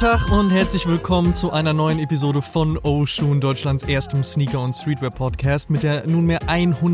Tag und herzlich willkommen zu einer neuen Episode von Oshun, Deutschlands erstem Sneaker- und Streetwear-Podcast mit der nunmehr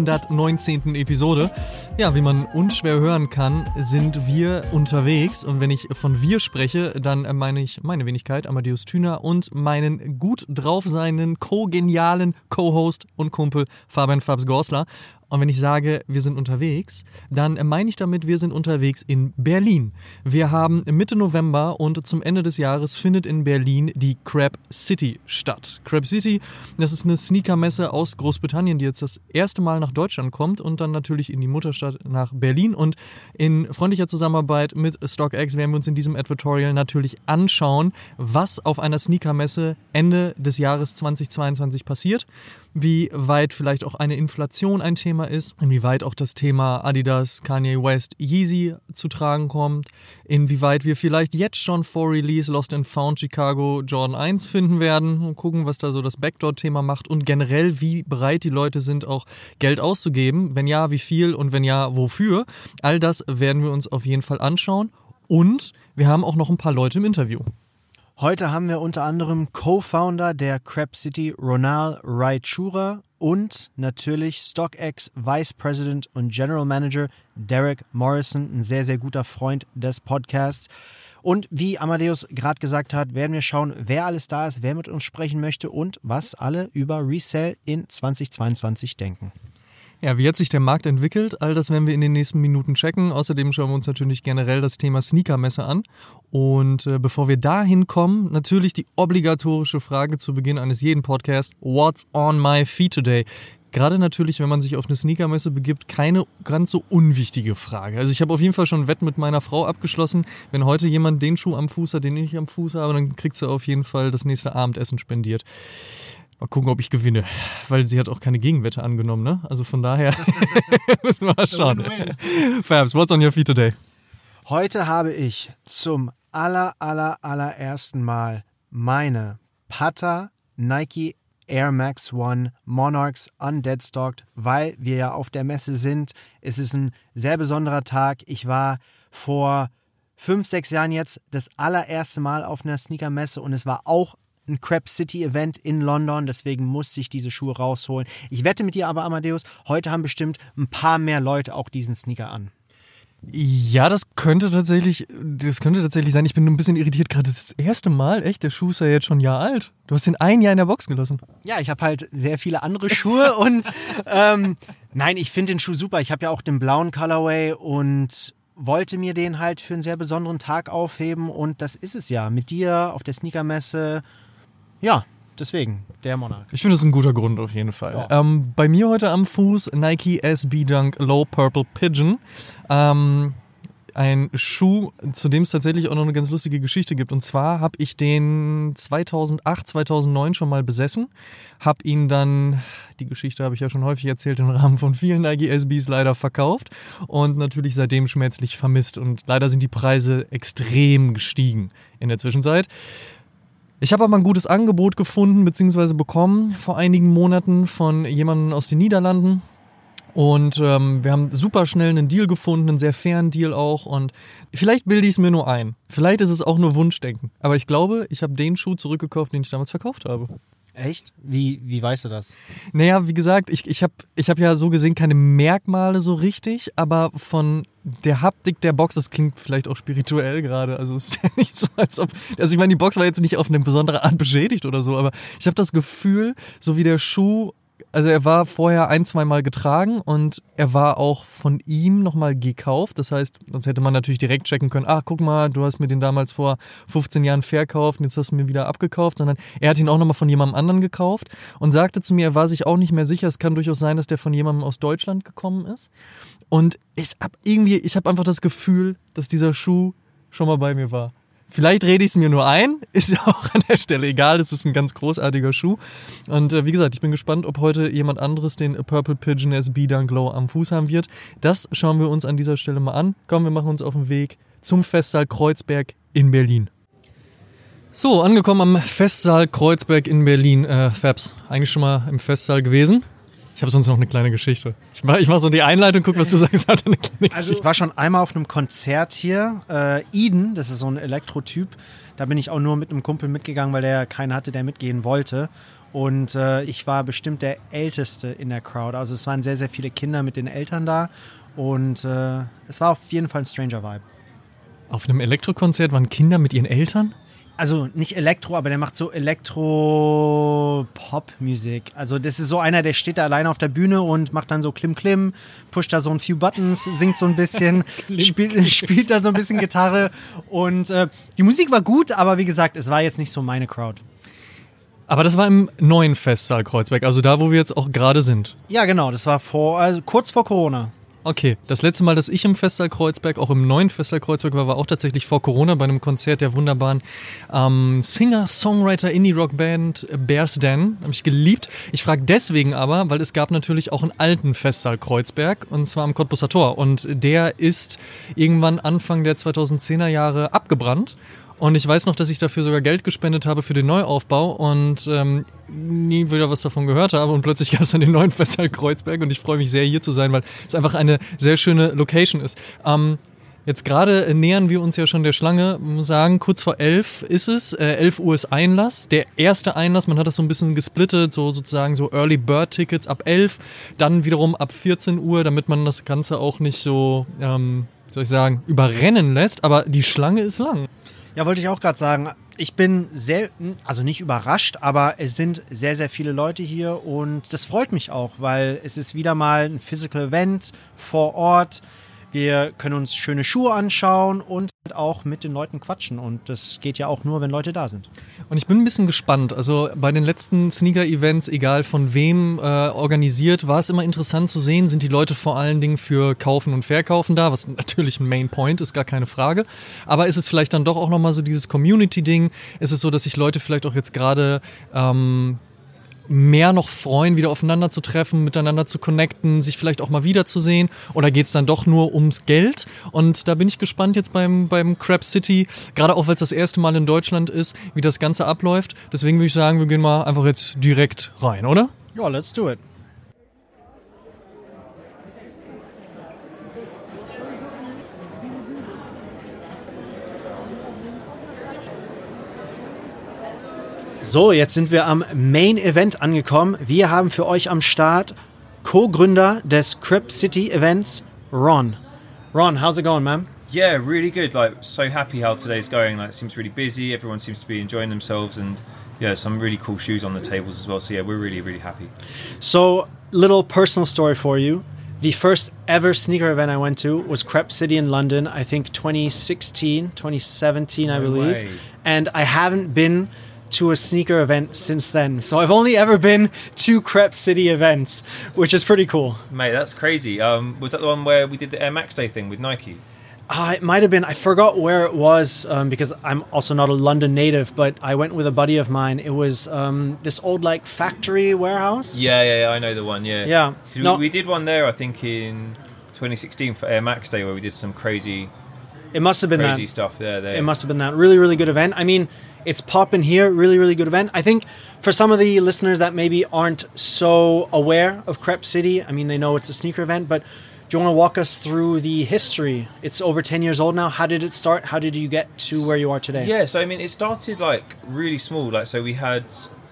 119. Episode. Ja, wie man unschwer hören kann, sind wir unterwegs und wenn ich von wir spreche, dann meine ich meine Wenigkeit, Amadeus Thüner und meinen gut drauf seinen co-genialen Co-Host und Kumpel Fabian Fabs Gorsler. Und wenn ich sage, wir sind unterwegs, dann meine ich damit, wir sind unterwegs in Berlin. Wir haben Mitte November und zum Ende des Jahres findet in Berlin die Crab City statt. Crab City, das ist eine Sneakermesse aus Großbritannien, die jetzt das erste Mal nach Deutschland kommt und dann natürlich in die Mutterstadt nach Berlin. Und in freundlicher Zusammenarbeit mit StockX werden wir uns in diesem Advertorial natürlich anschauen, was auf einer Sneakermesse Ende des Jahres 2022 passiert. Wie weit vielleicht auch eine Inflation ein Thema ist, inwieweit auch das Thema Adidas, Kanye West, Yeezy zu tragen kommt, inwieweit wir vielleicht jetzt schon vor Release Lost and Found Chicago Jordan 1 finden werden und gucken, was da so das Backdoor-Thema macht und generell, wie bereit die Leute sind, auch Geld auszugeben, wenn ja, wie viel und wenn ja, wofür. All das werden wir uns auf jeden Fall anschauen und wir haben auch noch ein paar Leute im Interview. Heute haben wir unter anderem Co-Founder der Crab City, Ronal Raichura und natürlich StockX Vice President und General Manager Derek Morrison, ein sehr, sehr guter Freund des Podcasts. Und wie Amadeus gerade gesagt hat, werden wir schauen, wer alles da ist, wer mit uns sprechen möchte und was alle über Resale in 2022 denken. Ja, wie hat sich der Markt entwickelt? All das werden wir in den nächsten Minuten checken. Außerdem schauen wir uns natürlich generell das Thema Sneakermesse an. Und bevor wir dahin kommen, natürlich die obligatorische Frage zu Beginn eines jeden Podcasts. What's on my feet today? Gerade natürlich, wenn man sich auf eine Sneakermesse begibt, keine ganz so unwichtige Frage. Also ich habe auf jeden Fall schon ein Wett mit meiner Frau abgeschlossen. Wenn heute jemand den Schuh am Fuß hat, den ich am Fuß habe, dann kriegt sie auf jeden Fall das nächste Abendessen spendiert. Mal gucken, ob ich gewinne, weil sie hat auch keine Gegenwette angenommen, ne? Also von daher müssen wir mal schauen. Fabs, what's on your feet today? Heute habe ich zum allerersten Mal meine Pata Nike Air Max One Monarchs undeadstocked, weil wir ja auf der Messe sind. Es ist ein sehr besonderer Tag. Ich war vor 5-6 Jahren jetzt das allererste Mal auf einer Sneakermesse und es war auch ein Crab City Event in London, deswegen musste ich diese Schuhe rausholen. Ich wette mit dir aber, Amadeus, heute haben bestimmt ein paar mehr Leute auch diesen Sneaker an. Ja, das könnte tatsächlich sein. Ich bin nur ein bisschen irritiert, gerade das erste Mal. Echt, der Schuh ist ja jetzt schon ein Jahr alt. Du hast den ein Jahr in der Box gelassen. Ja, ich habe halt sehr viele andere Schuhe und nein, ich finde den Schuh super. Ich habe ja auch den blauen Colorway und wollte mir den halt für einen sehr besonderen Tag aufheben und das ist es ja. Mit dir auf der Sneakermesse. Ja, deswegen, der Monarch. Ich finde, das ist ein guter Grund auf jeden Fall. Ja. Bei mir heute am Fuß Nike SB Dunk Low Purple Pigeon. Ein Schuh, zu dem es tatsächlich auch noch eine ganz lustige Geschichte gibt. Und zwar habe ich den 2008, 2009 schon mal besessen. Habe ihn dann, die Geschichte habe ich ja schon häufig erzählt, im Rahmen von vielen Nike SBs leider verkauft. Und natürlich seitdem schmerzlich vermisst. Und leider sind die Preise extrem gestiegen in der Zwischenzeit. Ich habe aber ein gutes Angebot gefunden bzw. bekommen vor einigen Monaten von jemandem aus den Niederlanden. Und wir haben super schnell einen Deal gefunden, einen sehr fairen Deal auch. Und vielleicht bilde ich es mir nur ein. Vielleicht ist es auch nur Wunschdenken. Aber ich glaube, ich habe den Schuh zurückgekauft, den ich damals verkauft habe. Echt? Wie weißt du das? Naja, wie gesagt, ich hab ja so gesehen keine Merkmale so richtig, aber von der Haptik der Box, das klingt vielleicht auch spirituell gerade, also es ist ja nicht so, als ob, also ich meine, die Box war jetzt nicht auf eine besondere Art beschädigt oder so, aber ich habe das Gefühl, so wie der Schuh, also er war vorher 1-2 Mal getragen und er war auch von ihm nochmal gekauft. Das heißt, sonst hätte man natürlich direkt checken können, ach guck mal, du hast mir den damals vor 15 Jahren verkauft und jetzt hast du mir wieder abgekauft. Sondern er hat ihn auch nochmal von jemandem anderen gekauft und sagte zu mir, er war sich auch nicht mehr sicher. Es kann durchaus sein, dass der von jemandem aus Deutschland gekommen ist. Und ich habe einfach das Gefühl, dass dieser Schuh schon mal bei mir war. Vielleicht rede ich es mir nur ein, ist ja auch an der Stelle egal, es ist ein ganz großartiger Schuh. Und wie gesagt, ich bin gespannt, ob heute jemand anderes den Purple Pigeon SB Dunk Low am Fuß haben wird. Das schauen wir uns an dieser Stelle mal an. Komm, wir machen uns auf den Weg zum Festsaal Kreuzberg in Berlin. So, angekommen am Festsaal Kreuzberg in Berlin. Fabs, eigentlich schon mal im Festsaal gewesen? Ich habe sonst noch eine kleine Geschichte. Ich mach so die Einleitung, guck, was du sagst, hat eine kleine Geschichte. Also ich war schon einmal auf einem Konzert hier. Eden, das ist so ein Elektrotyp. Da bin ich auch nur mit einem Kumpel mitgegangen, weil der keinen hatte, der mitgehen wollte. Und ich war bestimmt der Älteste in der Crowd. Also es waren sehr, sehr viele Kinder mit den Eltern da. Und es war auf jeden Fall ein stranger Vibe. Auf einem Elektrokonzert waren Kinder mit ihren Eltern? Also nicht Elektro, aber der macht so Elektro-Pop-Musik. Also das ist so einer, der steht da alleine auf der Bühne und macht dann so Klim-Klim, pusht da so ein few Buttons, singt so ein bisschen, spielt dann so ein bisschen Gitarre. Und die Musik war gut, aber wie gesagt, es war jetzt nicht so meine Crowd. Aber das war im neuen Festsaal Kreuzberg, also da, wo wir jetzt auch gerade sind. Ja, genau, das war kurz vor Corona. Okay, das letzte Mal, dass ich im Festsaal Kreuzberg, auch im neuen Festsaal Kreuzberg war auch tatsächlich vor Corona bei einem Konzert der wunderbaren Singer-Songwriter-Indie-Rock-Band Bears Den. Habe ich geliebt. Ich frage deswegen aber, weil es gab natürlich auch einen alten Festsaal Kreuzberg, und zwar am Cottbuser Tor. Und der ist irgendwann Anfang der 2010er Jahre abgebrannt. Und ich weiß noch, dass ich dafür sogar Geld gespendet habe für den Neuaufbau und nie wieder was davon gehört habe. Und plötzlich gab es dann den neuen Festsaal Kreuzberg und ich freue mich sehr, hier zu sein, weil es einfach eine sehr schöne Location ist. Jetzt gerade nähern wir uns ja schon der Schlange. Ich muss sagen, kurz vor 11 ist es. 11 Uhr ist Einlass. Der erste Einlass, man hat das so ein bisschen gesplittet, so sozusagen so Early Bird Tickets ab 11. Dann wiederum ab 14 Uhr, damit man das Ganze auch nicht so, wie soll ich sagen, überrennen lässt. Aber die Schlange ist lang. Ja, wollte ich auch gerade sagen. Ich bin also nicht überrascht, aber es sind sehr, sehr viele Leute hier und das freut mich auch, weil es ist wieder mal ein Physical Event vor Ort. Wir können uns schöne Schuhe anschauen und auch mit den Leuten quatschen. Und das geht ja auch nur, wenn Leute da sind. Und ich bin ein bisschen gespannt. Also bei den letzten Sneaker-Events, egal von wem organisiert, war es immer interessant zu sehen, sind die Leute vor allen Dingen für Kaufen und Verkaufen da, was natürlich ein Main Point ist, gar keine Frage. Aber ist es vielleicht dann doch auch nochmal so dieses Community-Ding? Ist es so, dass sich Leute vielleicht auch jetzt gerade mehr noch freuen, wieder aufeinander zu treffen, miteinander zu connecten, sich vielleicht auch mal wiederzusehen? Oder geht es dann doch nur ums Geld? Und da bin ich gespannt jetzt beim Crab City, gerade auch, weil es das erste Mal in Deutschland ist, wie das Ganze abläuft. Deswegen würde ich sagen, wir gehen mal einfach jetzt direkt rein, oder? Ja, let's do it. So, jetzt sind wir am Main Event angekommen. Wir haben für euch am Start Co-Gründer des Crab City Events, Ron. Ron, how's it going, man? Yeah, really good. Like, so happy how today's going. Like, it seems really busy. Everyone seems to be enjoying themselves, and yeah, some really cool shoes on the tables as well. So yeah, we're really, really happy. So, little personal story for you. The first ever sneaker event I went to was Crab City in London, I think 2016, 2017, I believe. Way. And I haven't been to a sneaker event since then. So I've only ever been to Crab City events, which is pretty cool. Mate, that's crazy. Was that the one where we did the Air Max Day thing with Nike? It might have been. I forgot where it was because I'm also not a London native, but I went with a buddy of mine. It was this old like factory warehouse. Yeah, I know the one, yeah. Yeah. No. We did one there, I think, in 2016 for Air Max Day where we did some crazy It must have been crazy that. stuff there. It must have been that. Really, really good event. I mean, it's popping here. Really, really good event. I think for some of the listeners that maybe aren't so aware of Crab City, I mean, they know it's a sneaker event, but do you want to walk us through the history? It's over 10 years old now. How did it start? How did you get to where you are today? Yeah, so I mean, it started like really small. Like, so we had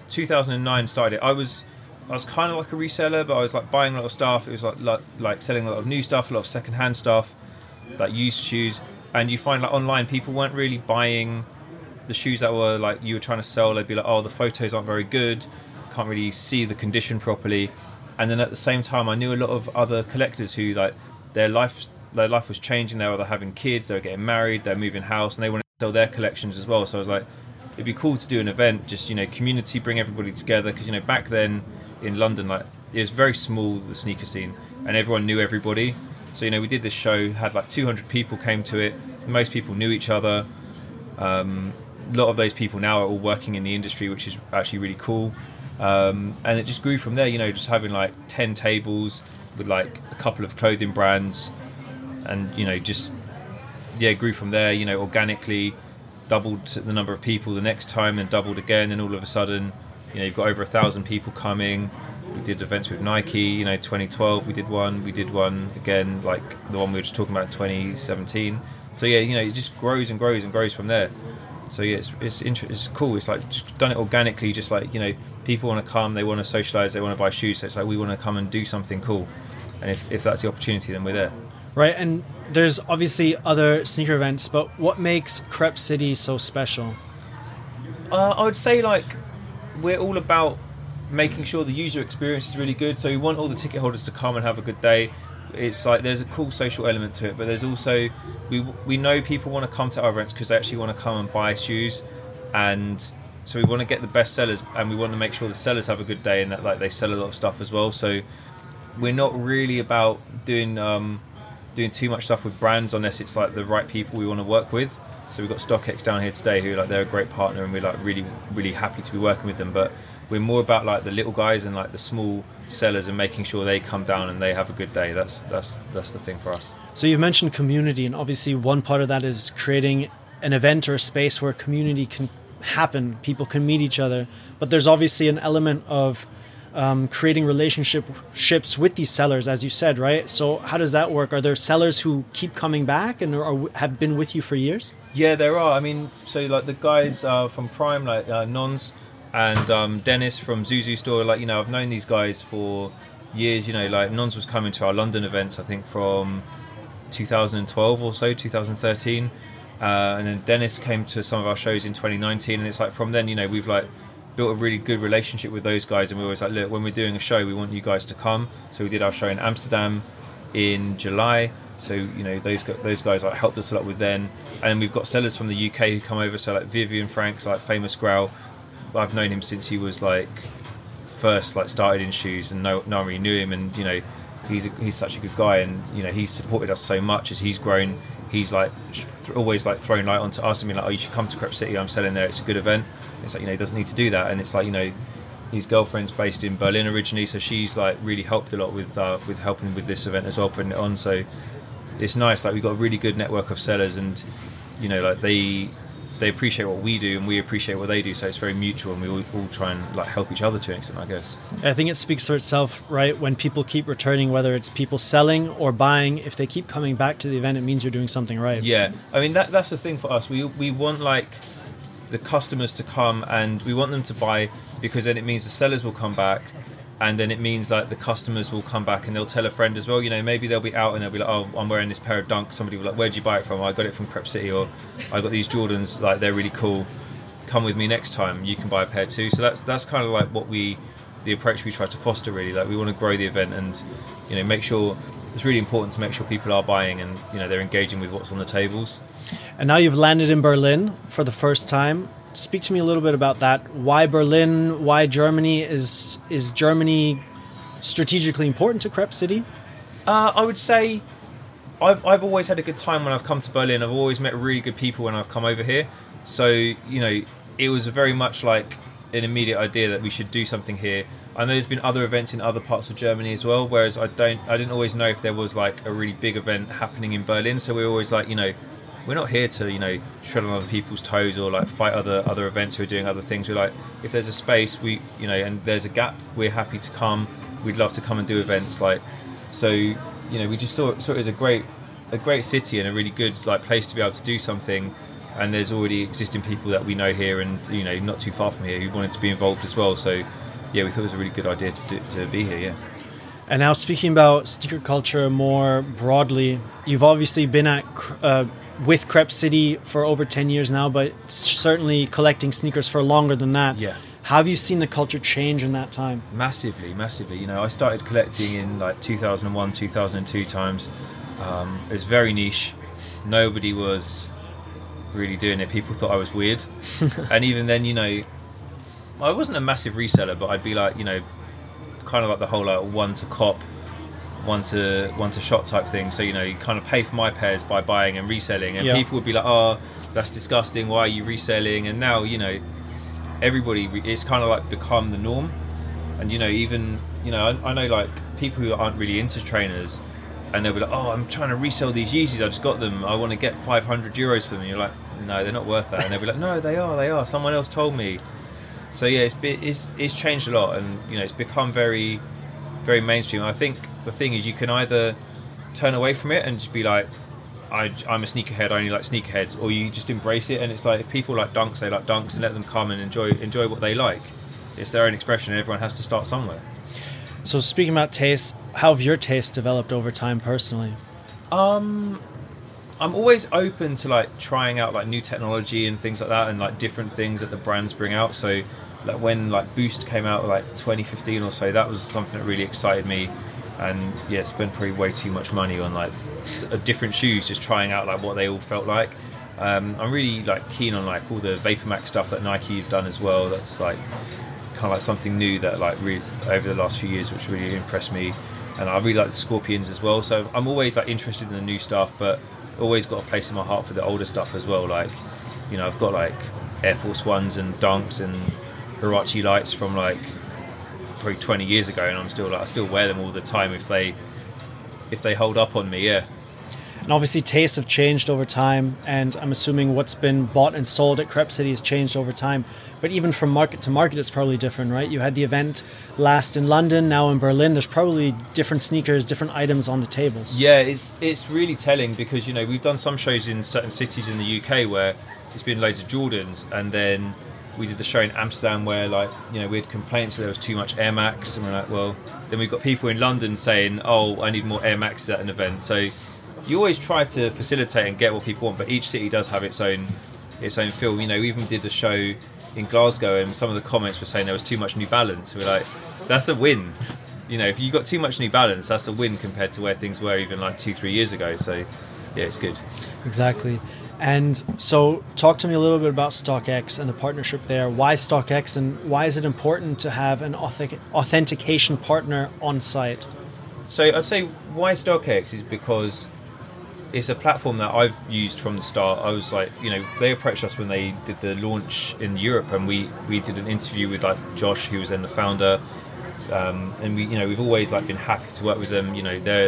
2009 started it. I was kind of like a reseller, but I was like buying a lot of stuff. It was like selling a lot of new stuff, a lot of secondhand stuff, like used shoes. And you find like online people weren't really buying the shoes that were like you were trying to sell. They'd be like, oh, the photos aren't very good, can't really see the condition properly. And then at the same time, I knew a lot of other collectors who like their life was changing. They were either having kids, they were getting married, they're moving house, and they wanted to sell their collections as well. So I was like, it'd be cool to do an event, just, you know, community, bring everybody together. Because, you know, back then in London, like, it was very small, the sneaker scene, and everyone knew everybody. So, you know, we did this show, had like 200 people came to it. Most people knew each other. A lot of those people now are all working in the industry, which is actually really cool. And it just grew from there, you know, just having like 10 tables with like a couple of clothing brands, and, you know, just, yeah, grew from there, you know, organically, doubled the number of people the next time and doubled again, and all of a sudden, you know, you've got over 1,000 people coming. We did events with Nike, 2012 we did one again, like the one we were just talking about in 2017. So yeah, it just grows and grows and grows from there. So yeah, it's cool. It's like just done it organically, just like, people want to come, they want to socialise, they want to buy shoes, so it's like we want to come and do something cool. And if that's the opportunity, then we're there. Right, and there's obviously other sneaker events, but what makes Crep City so special? I would say, like, we're all about making sure the user experience is really good. So we want all the ticket holders to come and have a good day. It's like there's a cool social element to it, but there's also we know people want to come to our events because they actually want to come and buy shoes, and so we want to get the best sellers, and we want to make sure the sellers have a good day and that like they sell a lot of stuff as well. So we're not really about doing too much stuff with brands unless it's like the right people we want to work with. So we've got StockX down here today who, like, they're a great partner, and we're like really, really happy to be working with them. But we're more about like the little guys and like the small sellers and making sure they come down and they have a good day. That's the thing for us. So you've mentioned community, and obviously one part of that is creating an event or a space where community can happen, people can meet each other. But there's obviously an element of creating relationships with these sellers, as you said, right? So how does that work? Are there sellers who keep coming back and have been with you for years? Yeah, there are. I mean, so like the guys from Prime, like Nons and Dennis from Zuzu Store, like, I've known these guys for years. Like Nons was coming to our London events, I think from 2012 or so, 2013, and then Dennis came to some of our shows in 2019, and it's like from then, we've like built a really good relationship with those guys, and we always like, look, when we're doing a show, we want you guys to come. So we did our show in Amsterdam in July. So those guys like helped us a lot with then, and we've got sellers from the UK who come over. So like Vivian Frank, like Famous Growl, I've known him since he was like first like started in shoes, and no one really knew him, and he's such a good guy, and he's supported us so much as he's grown. He's like always like thrown light onto us and being like, oh, you should come to Crep City, I'm selling there, it's a good event. It's like, he doesn't need to do that, and it's like, his girlfriend's based in Berlin originally, so she's like really helped a lot with helping with this event as well, putting it on. So it's nice, like we've got a really good network of sellers, and like they appreciate what we do and we appreciate what they do, so it's very mutual, and we all try and like help each other to an extent, I guess. I think it speaks for itself, right? When people keep returning, whether it's people selling or buying, if they keep coming back to the event, it means you're doing something right. Yeah, I mean that's the thing for us. We want like the customers to come, and we want them to buy, because then it means the sellers will come back, and then it means like the customers will come back and they'll tell a friend as well. Maybe they'll be out and they'll be like, oh, I'm wearing this pair of Dunks. Somebody will be like, where'd you buy it from? I got it from Crep City, or I got these Jordans, like they're really cool, come with me next time, you can buy a pair too. So that's kind of like the approach we try to foster, really. Like we want to grow the event and make sure, it's really important to make sure people are buying and they're engaging with what's on the tables. And now you've landed in Berlin for the first time. Speak to me a little bit about that. Why Berlin? Why Germany? Is Germany strategically important to Crep City? I would say I've always had a good time when I've come to Berlin. I've always met really good people when I've come over here. So, it was very much like an immediate idea that we should do something here. I know there's been other events in other parts of Germany as well, whereas I didn't always know if there was like a really big event happening in Berlin. So we're always like, we're not here to, tread on other people's toes or like fight other events who are doing other things. We're like, if there's a space, and there's a gap, we're happy to come. We'd love to come and do events. Like, so, we just saw it as a great city and a really good like place to be able to do something. And there's already existing people that we know here, and not too far from here, who wanted to be involved as well. So, yeah, we thought it was a really good idea to be here. Yeah. And now, speaking about sneaker culture more broadly, you've obviously been with Crep City for over 10 years now, but certainly collecting sneakers for longer than that. Yeah. How have you seen the culture change in that time? Massively. I started collecting in like 2001, 2002 times. It was very niche. Nobody was really doing it. People thought I was weird. And even then, I wasn't a massive reseller, but I'd be like, kind of like the whole like one to cop, one to shot type thing. So you kind of pay for my pairs by buying and reselling, and people would be like, oh, that's disgusting, why are you reselling? And now everybody, it's kind of like become the norm. And even I know like people who aren't really into trainers, and they'll be like, oh, I'm trying to resell these Yeezys, I just got them, I want to get 500 euros for them. And you're like, no, they're not worth that. And they'll be like, no, they are, someone else told me. So yeah, it's changed a lot, and it's become very, very mainstream. I think the thing is, you can either turn away from it and just be like, I'm a sneakerhead, I only like sneakerheads, or you just embrace it. And it's like, if people like Dunks, they like Dunks, and let them come and enjoy what they like. It's their own expression, and everyone has to start somewhere. So speaking about taste, how have your tastes developed over time personally? I'm always open to like trying out like new technology and things like that, and like different things that the brands bring out. So like when like Boost came out like 2015 or so, that was something that really excited me. And yeah, spent probably way too much money on like different shoes, just trying out like what they all felt like. I'm really like keen on like all the VaporMax stuff that Nike have done as well. That's like kind of like something new that like over the last few years, which really impressed me. And I really like the Scorpions as well. So I'm always like interested in the new stuff, but always got a place in my heart for the older stuff as well. Like, I've got like Air Force Ones and Dunks and Huarache Lights from like probably 20 years ago, and I still wear them all the time if they hold up on me. Yeah. And obviously tastes have changed over time, and I'm assuming what's been bought and sold at Crep City has changed over time. But even from market to market, it's probably different, right? You had the event last in London, now in Berlin. There's probably different sneakers, different items on the tables. Yeah, it's really telling, because we've done some shows in certain cities in the UK where it's been loads of Jordans, and then we did the show in Amsterdam where we had complaints that there was too much Air Max, and we're like, well, then we've got people in London saying, oh, I need more Air Maxes at an event. So you always try to facilitate and get what people want, but each city does have its own feel. We even did a show in Glasgow, and some of the comments were saying there was too much New Balance. We're like, that's a win. If you got too much New Balance, that's a win compared to where things were even like 2-3 years ago. So yeah, it's good. Exactly. And so talk to me a little bit about StockX and the partnership there. Why StockX, and why is it important to have an authentication partner on site? So I'd say why StockX is because it's a platform that I've used from the start. I was like, they approached us when they did the launch in Europe, and we did an interview with like Josh, who was then the founder, and we've always like been happy to work with them.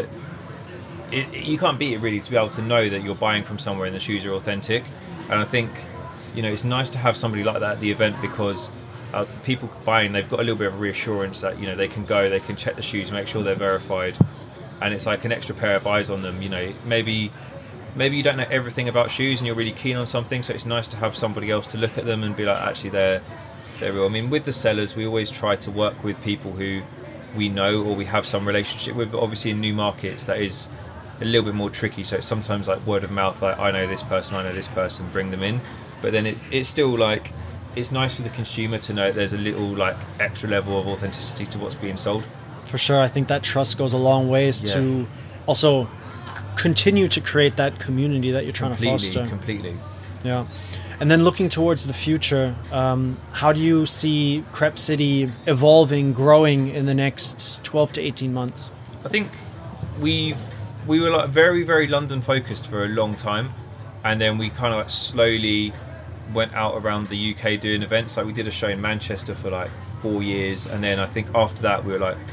You can't beat it really, to be able to know that you're buying from somewhere and the shoes are authentic. And I think it's nice to have somebody like that at the event, because people buying, they've got a little bit of reassurance that they can go, they can check the shoes, make sure they're verified. And it's like an extra pair of eyes on them. Maybe you don't know everything about shoes and you're really keen on something, so it's nice to have somebody else to look at them and be like, actually they're real. I mean, with the sellers, we always try to work with people who we know or we have some relationship with, but obviously in new markets that is a little bit more tricky. So it's sometimes like word of mouth, like I know this person, bring them in. But then it's still like, it's nice for the consumer to know there's a little like extra level of authenticity to what's being sold. For sure, I think that trust goes a long ways to also continue to create that community that you're trying to foster. Completely. Yeah. And then looking towards the future, how do you see Crep City evolving, growing in the next 12 to 18 months? I think we were like very, very London focused for a long time, and then we kind of like slowly went out around the UK doing events. Like we did a show in Manchester for like 4 years, and then I think after that we were like,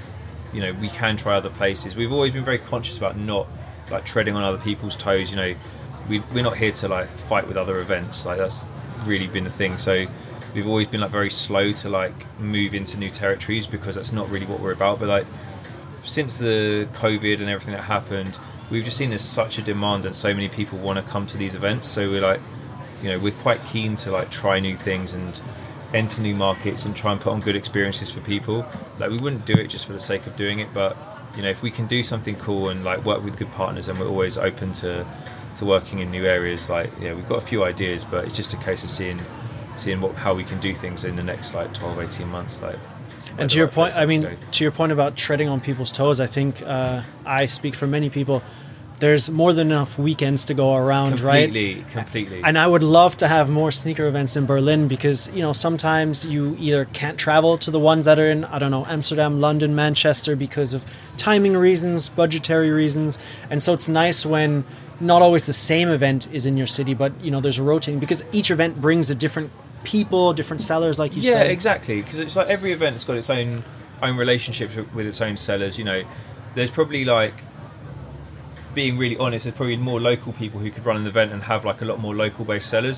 we can try other places. We've always been very conscious about not like treading on other people's toes. We're not here to like fight with other events. Like that's really been the thing. So we've always been like very slow to like move into new territories, because that's not really what we're about. But like since the COVID and everything that happened, we've just seen there's such a demand and so many people want to come to these events. So we're like, we're quite keen to like try new things and enter new markets and try and put on good experiences for people. Like we wouldn't do it just for the sake of doing it, but if we can do something cool and like work with good partners, and we're always open to working in new areas. Like we've got a few ideas, but it's just a case of seeing how we can do things in the next like 12-18 months. Like, and to your point, to your point about treading on people's toes, I think I speak for many people. There's more than enough weekends to go around, right? Completely. And I would love to have more sneaker events in Berlin, because, sometimes you either can't travel to the ones that are in, Amsterdam, London, Manchester, because of timing reasons, budgetary reasons. And so it's nice when not always the same event is in your city, but, there's a rotating, because each event brings a different people, different sellers, like you said. Yeah, exactly. Because it's like every event has got its own relationships with its own sellers. There's probably like, being really honest, there's probably more local people who could run an event and have like a lot more local based sellers,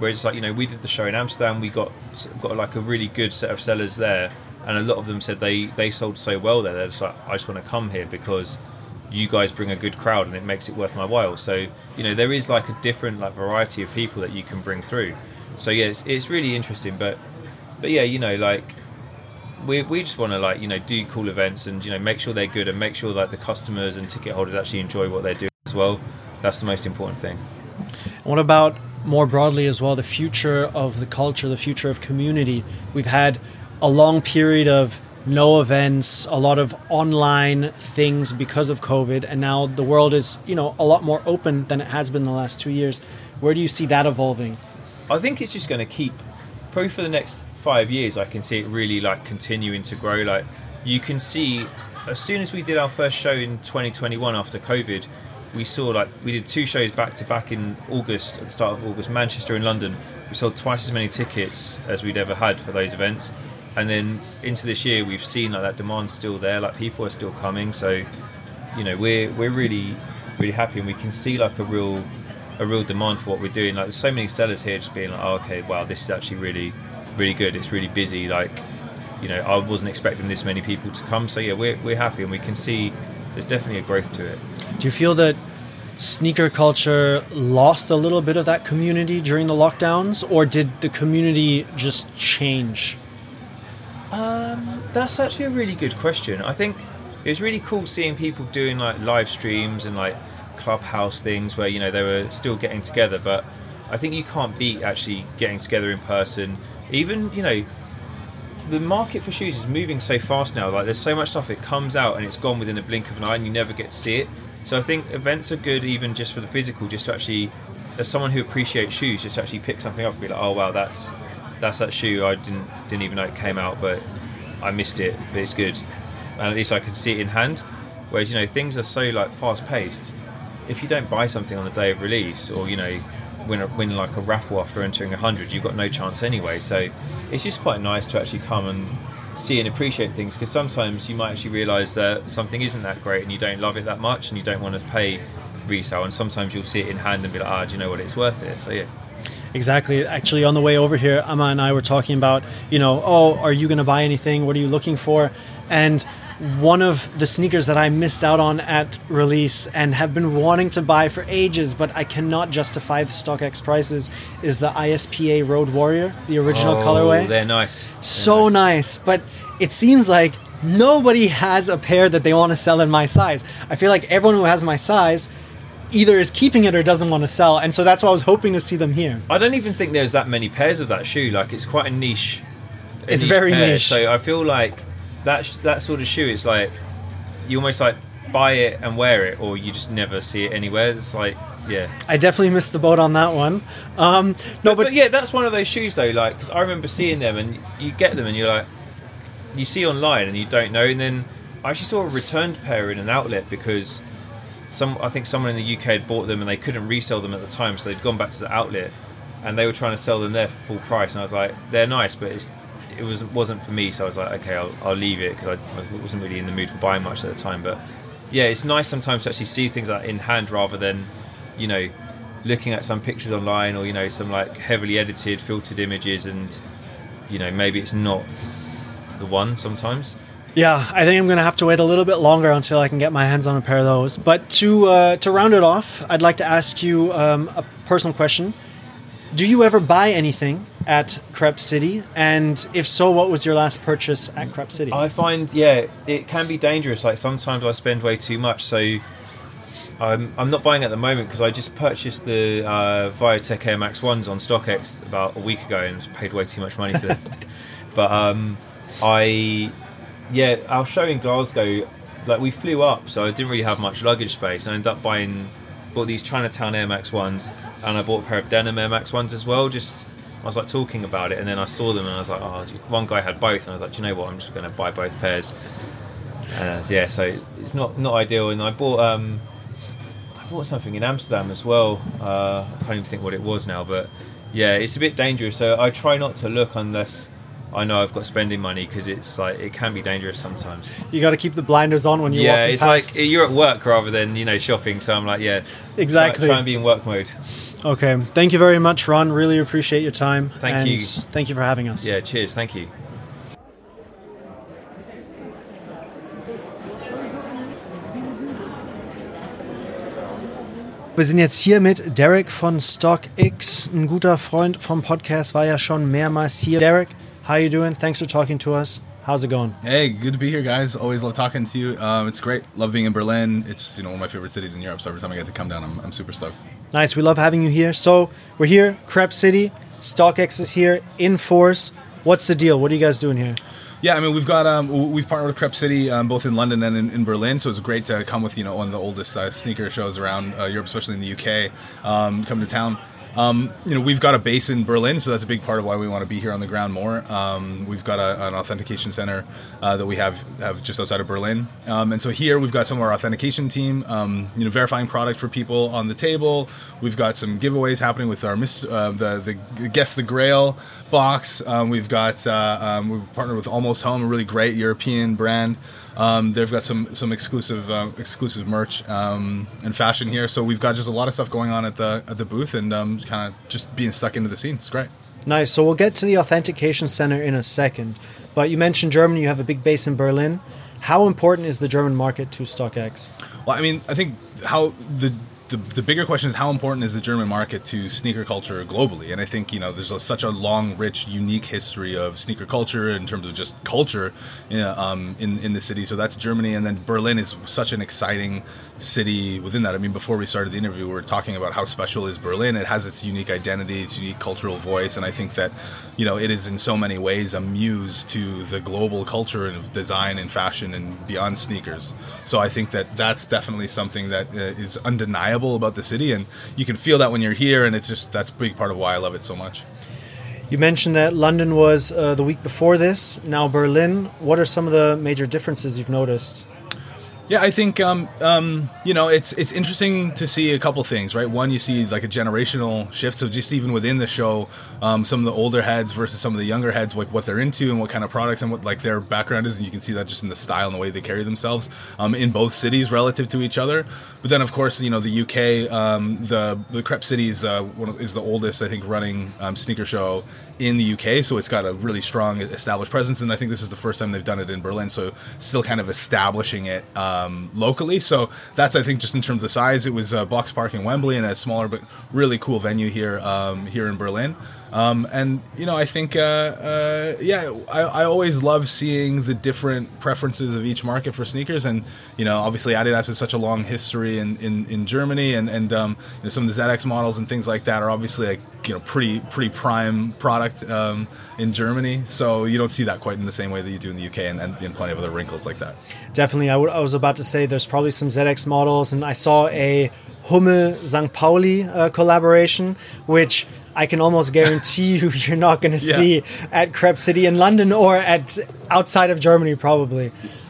Whereas like, you know, we did the show in Amsterdam, we got like a really good set of sellers there, and a lot of them said they sold so well there, they're just like, I just want to come here because you guys bring a good crowd and it makes it worth my while. So, you know, there is like a different like variety of people that you can bring through. So yeah, it's really interesting, but yeah, you know, like we just want to like, you know, do cool events and, you know, make sure they're good and make sure that the customers and ticket holders actually enjoy what they're doing as well. That's the most important thing. What about more broadly as well, the future of the culture, the future of community? We've had a long period of no events, a lot of online things because of COVID, and now the world is, you know, a lot more open than it has been the last 2 years. Where do you see that evolving? I think it's just going to keep, probably for the next 5 years, I can see it really like continuing to grow. Like you can see, as soon as we did our first show in 2021 after COVID, we saw like, we did 2 shows back to back in August, at the start of August, Manchester and London. We sold twice as many tickets as we'd ever had for those events. And then into this year, we've seen like that demand's still there, like people are still coming. So, you know, we're really, really happy, and we can see like a real demand for what we're doing. Like there's so many sellers here just being like, oh, okay, wow, this is actually really, really good. It's really busy. Like, you know, I wasn't expecting this many people to come. So yeah, we're happy, and we can see there's definitely a growth to it. Do you feel that sneaker culture lost a little bit of that community during the lockdowns, or did the community just change? That's actually a really good question. I think it was really cool seeing people doing like live streams and like clubhouse things where, you know, they were still getting together, but I think you can't beat actually getting together in person. Even, you know, the market for shoes is moving so fast now. Like there's so much stuff, it comes out and it's gone within a blink of an eye and you never get to see it. So I think events are good even just for the physical, just to actually, as someone who appreciates shoes, just to actually pick something up and be like, oh wow, that's that shoe, I didn't even know it came out, but I missed it, but it's good, and at least I can see it in hand. Whereas, you know, things are so like fast paced, if you don't buy something on the day of release, or, you know, win like a raffle after entering 100, you've got no chance anyway. So it's just quite nice to actually come and see and appreciate things, because sometimes you might actually realise that something isn't that great and you don't love it that much and you don't want to pay resale, and sometimes you'll see it in hand and be like, do you know what, it's worth it. So yeah. Exactly. Actually, on the way over here, Amma and I were talking about, you know, oh, are you going to buy anything? What are you looking for? And one of the sneakers that I missed out on at release and have been wanting to buy for ages, but I cannot justify the StockX prices, is the ISPA Road Warrior, the original colorway. They're nice. So nice. But it seems like nobody has a pair that they want to sell in my size. I feel like everyone who has my size either is keeping it or doesn't want to sell, and so that's why I was hoping to see them here. I don't even think there's that many pairs of that shoe. Like, it's quite a niche. It's very niche. So I feel like that sort of shoe, it's like you almost like buy it and wear it, or you just never see it anywhere. It's like, yeah. I definitely missed the boat on that one. But yeah, that's one of those shoes though. Like, 'cause I remember seeing them, and you get them, and you're like, you see online, and you don't know. And then I actually saw a returned pair in an outlet because I think someone in the UK had bought them and they couldn't resell them at the time, so they'd gone back to the outlet and they were trying to sell them there for full price. And I was like, they're nice, but it wasn't for me. So I was like, okay, I'll leave it, because I wasn't really in the mood for buying much at the time. But yeah, it's nice sometimes to actually see things like in hand rather than, you know, looking at some pictures online, or, you know, some like heavily edited, filtered images, and, you know, maybe it's not the one sometimes. Yeah, I think I'm going to have to wait a little bit longer until I can get my hands on a pair of those. But to round it off, I'd like to ask you a personal question. Do you ever buy anything at Crep City? And if so, what was your last purchase at Crep City? I find, yeah, it can be dangerous. Like, sometimes I spend way too much. So I'm not buying at the moment because I just purchased the Viotech Air Max 1s on StockX about a week ago and paid way too much money for them. But yeah, our show in Glasgow, like, we flew up, so I didn't really have much luggage space. I ended up bought these Chinatown Air Max 1s, and I bought a pair of denim Air Max 1s as well. I was like talking about it, and then I saw them and I was like, oh, one guy had both, and I was like, do you know what, I'm just going to buy both pairs. And yeah, so it's not ideal. And I bought something in Amsterdam as well. I can't even think what it was now, but yeah, it's a bit dangerous. So I try not to look unless I know I've got spending money, because it's like it can be dangerous sometimes. You got to keep the blinders on when you're walking it's past. like you're at work rather than shopping. So I'm like, exactly. Try and be in work mode. Okay, thank you very much, Ron. Really appreciate your time. Thank you. Thank you for having us. Yeah, cheers. Thank you. Wir sind jetzt hier mit Derek von StockX, ein guter Freund vom Podcast, war ja schon mehrmals hier. Derek, how you doing? Thanks for talking to us. How's it going? Hey, good to be here, guys. Always love talking to you. It's great. Love being in Berlin. It's one of my favorite cities in Europe. So every time I get to come down, I'm super stoked. Nice. We love having you here. So we're here, Crep City. StockX is here in force. What's the deal? What are you guys doing here? Yeah, I mean, we've partnered with Crep City both in London and in Berlin, so it's great to come with one of the oldest sneaker shows around Europe, especially in the UK, come to town. We've got a base in Berlin, so that's a big part of why we want to be here on the ground more. We've got an authentication center that we have just outside of Berlin, and so here we've got some of our authentication team, verifying product for people on the table. We've got some giveaways happening with our the Guess the Grail box. We've partnered with Almost Home, a really great European brand. They've got some exclusive merch and fashion here, so we've got just a lot of stuff going on at the booth, and kind of just being stuck into the scene. It's great. Nice. So we'll get to the authentication center in a second, but you mentioned Germany. You have a big base in Berlin. How important is the German market to StockX? Well, I mean, I think how the bigger question is how important is the German market to sneaker culture globally? And I think, there's such a long, rich, unique history of sneaker culture in terms of just culture in the city. So that's Germany. And then Berlin is such an exciting city within that. I mean, before we started the interview, we were talking about how special is Berlin. It has its unique identity, its unique cultural voice. And I think that, it is in so many ways a muse to the global culture of design and fashion and beyond sneakers. So I think that that's definitely something that is undeniable about the city, and you can feel that when you're here, and that's a big part of why I love it so much. You mentioned that London was the week before this, now Berlin. What are some of the major differences you've noticed? Yeah, I think it's interesting to see a couple things, right? One, you see like a generational shift. So just even within the show, some of the older heads versus some of the younger heads, like what they're into and what kind of products and what like their background is, and you can see that just in the style and the way they carry themselves in both cities relative to each other. But then, of course, the UK, the Crep City is the oldest, I think, running sneaker show in the UK, so it's got a really strong established presence, and I think this is the first time they've done it in Berlin, so still kind of establishing it locally. So that's, I think, just in terms of size, it was Box Park in Wembley and a smaller but really cool venue here in Berlin. I think, I always love seeing the different preferences of each market for sneakers. And, obviously Adidas has such a long history in Germany, and some of the ZX models and things like that are obviously like, pretty prime product in Germany. So you don't see that quite in the same way that you do in the UK, and plenty of other wrinkles like that. Definitely. I was about to say there's probably some ZX models, and I saw a Hummel St. Pauli collaboration, which I can almost guarantee you're not going to see at Crep City in London or at outside of Germany, probably.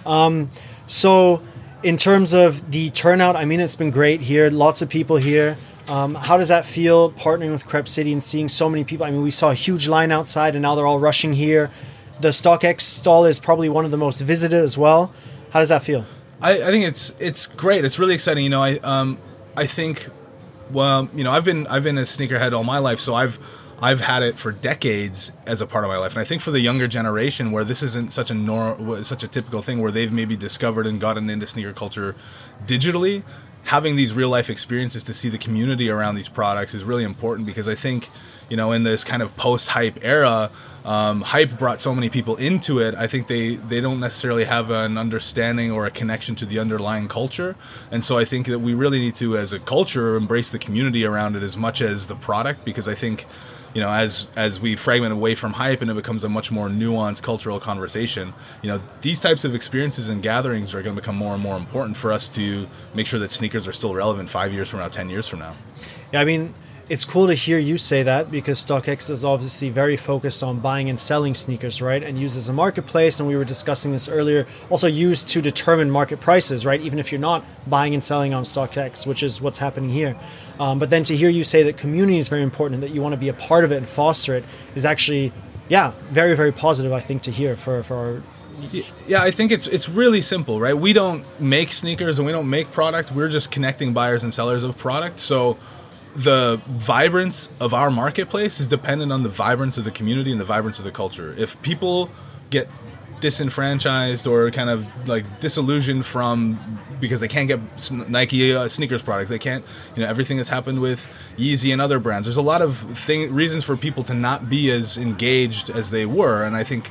So in terms of the turnout, I mean, it's been great here. Lots of people here. How does that feel, partnering with Crep City and seeing so many people? I mean, we saw a huge line outside, and now they're all rushing here. The StockX stall is probably one of the most visited as well. How does that feel? I think it's great. It's really exciting. I think. Well, I've been a sneakerhead all my life, so I've had it for decades as a part of my life. And I think for the younger generation, where this isn't such a typical thing, where they've maybe discovered and gotten into sneaker culture digitally, having these real life experiences to see the community around these products is really important, because I think, in this kind of post-hype era, hype brought so many people into it. I think they don't necessarily have an understanding or a connection to the underlying culture. And so I think that we really need to, as a culture, embrace the community around it as much as the product, because I think, as we fragment away from hype and it becomes a much more nuanced cultural conversation, these types of experiences and gatherings are going to become more and more important for us to make sure that sneakers are still relevant 5 years from now, 10 years from now. Yeah, I mean, it's cool to hear you say that, because StockX is obviously very focused on buying and selling sneakers, right? And used as a marketplace, and we were discussing this earlier, also used to determine market prices, right? Even if you're not buying and selling on StockX, which is what's happening here. But then to hear you say that community is very important and that you want to be a part of it and foster it is actually, very, very positive, I think, to hear for our... Yeah, I think it's really simple, right? We don't make sneakers and we don't make product. We're just connecting buyers and sellers of product. So the vibrance of our marketplace is dependent on the vibrance of the community and the vibrance of the culture. If people get disenfranchised or kind of like disillusioned from because they can't get Nike sneakers products, they can't, everything that's happened with Yeezy and other brands, there's a lot of reasons for people to not be as engaged as they were. And I think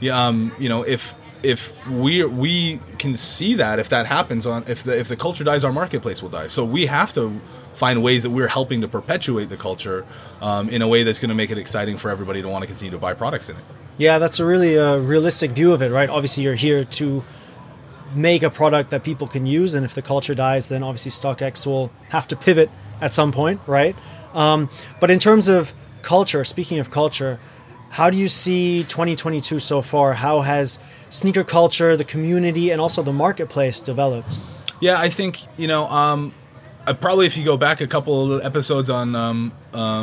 if we can see that, if that happens, if the culture dies, our marketplace will die. So we have to find ways that we're helping to perpetuate the culture in a way that's going to make it exciting for everybody to want to continue to buy products in it. Yeah, that's a really realistic view of it, right? Obviously, you're here to make a product that people can use, and if the culture dies, then obviously StockX will have to pivot at some point, right? But in terms of culture, speaking of culture, how do you see 2022 so far? How has sneaker culture, the community, and also the marketplace developed? Yeah, I think, probably if you go back a couple of episodes on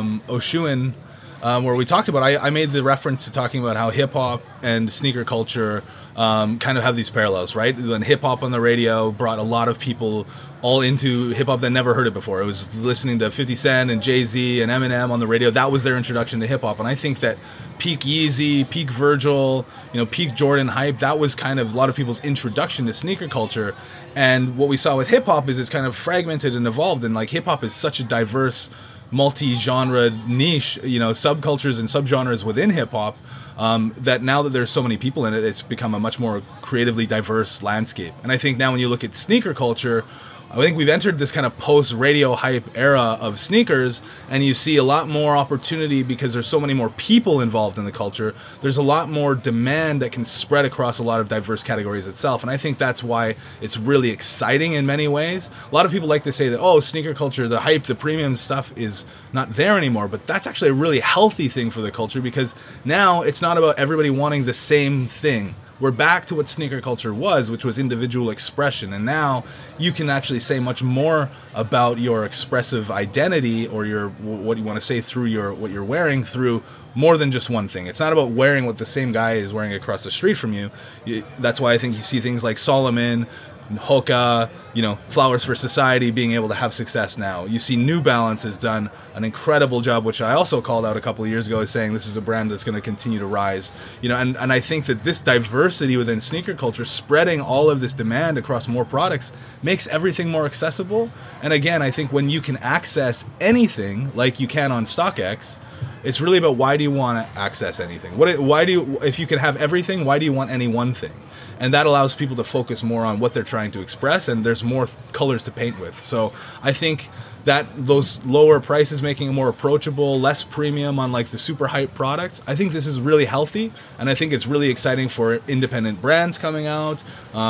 Oshun, where we talked about, I made the reference to talking about how hip-hop and sneaker culture kind of have these parallels, right? When hip-hop on the radio brought a lot of people all into hip-hop that never heard it before. It was listening to 50 Cent and Jay-Z and Eminem on the radio. That was their introduction to hip-hop. And I think that peak Yeezy, peak Virgil, peak Jordan hype, that was kind of a lot of people's introduction to sneaker culture. And what we saw with hip-hop is it's kind of fragmented and evolved. And like hip-hop is such a diverse, multi-genre niche, subcultures and subgenres within hip-hop, that now that there's so many people in it, it's become a much more creatively diverse landscape. And I think now when you look at sneaker culture, I think we've entered this kind of post-radio hype era of sneakers, and you see a lot more opportunity because there's so many more people involved in the culture. There's a lot more demand that can spread across a lot of diverse categories itself, and I think that's why it's really exciting in many ways. A lot of people like to say that, sneaker culture, the hype, the premium stuff is not there anymore, but that's actually a really healthy thing for the culture because now it's not about everybody wanting the same thing. We're back to what sneaker culture was, which was individual expression. And now you can actually say much more about your expressive identity or what you want to say through what you're wearing through more than just one thing. It's not about wearing what the same guy is wearing across the street from you. That's why I think you see things like Solomon, Hoka, Flowers for Society being able to have success now. You see New Balance has done an incredible job, which I also called out a couple of years ago as saying this is a brand that's going to continue to rise. And I think that this diversity within sneaker culture, spreading all of this demand across more products, makes everything more accessible. And again, I think when you can access anything like you can on StockX, it's really about why do you want to access anything? If you can have everything, why do you want any one thing? And that allows people to focus more on what they're trying to express, and there's more colors to paint with. So I think that those lower prices making it more approachable, less premium on like the super hype products, I think this is really healthy, and I think it's really exciting for independent brands coming out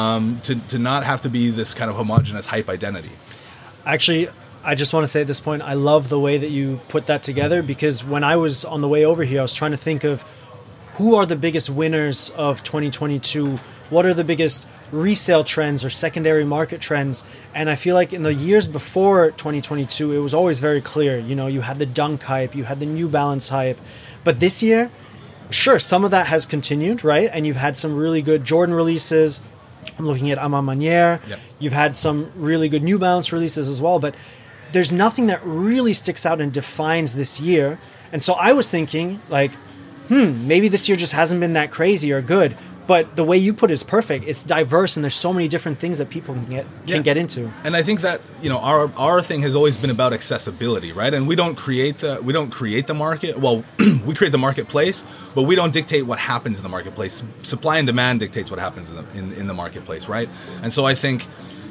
to not have to be this kind of homogenous hype identity. Actually, I just want to say at this point, I love the way that you put that together, because when I was on the way over here, I was trying to think of who are the biggest winners of 2022? What are the biggest resale trends or secondary market trends? And I feel like in the years before 2022, it was always very clear. You had the Dunk hype, you had the New Balance hype. But this year, sure, some of that has continued, right? And you've had some really good Jordan releases. I'm looking at A Ma Manière. Yep. You've had some really good New Balance releases as well. But there's nothing that really sticks out and defines this year. And so I was thinking, like, maybe this year just hasn't been that crazy or good. But the way you put it is perfect. It's diverse, and there's so many different things that people can get into. And I think that our thing has always been about accessibility, right? And we don't create the market. Well, we create the marketplace, but we don't dictate what happens in the marketplace. Supply and demand dictates what happens in the marketplace, right? And so I think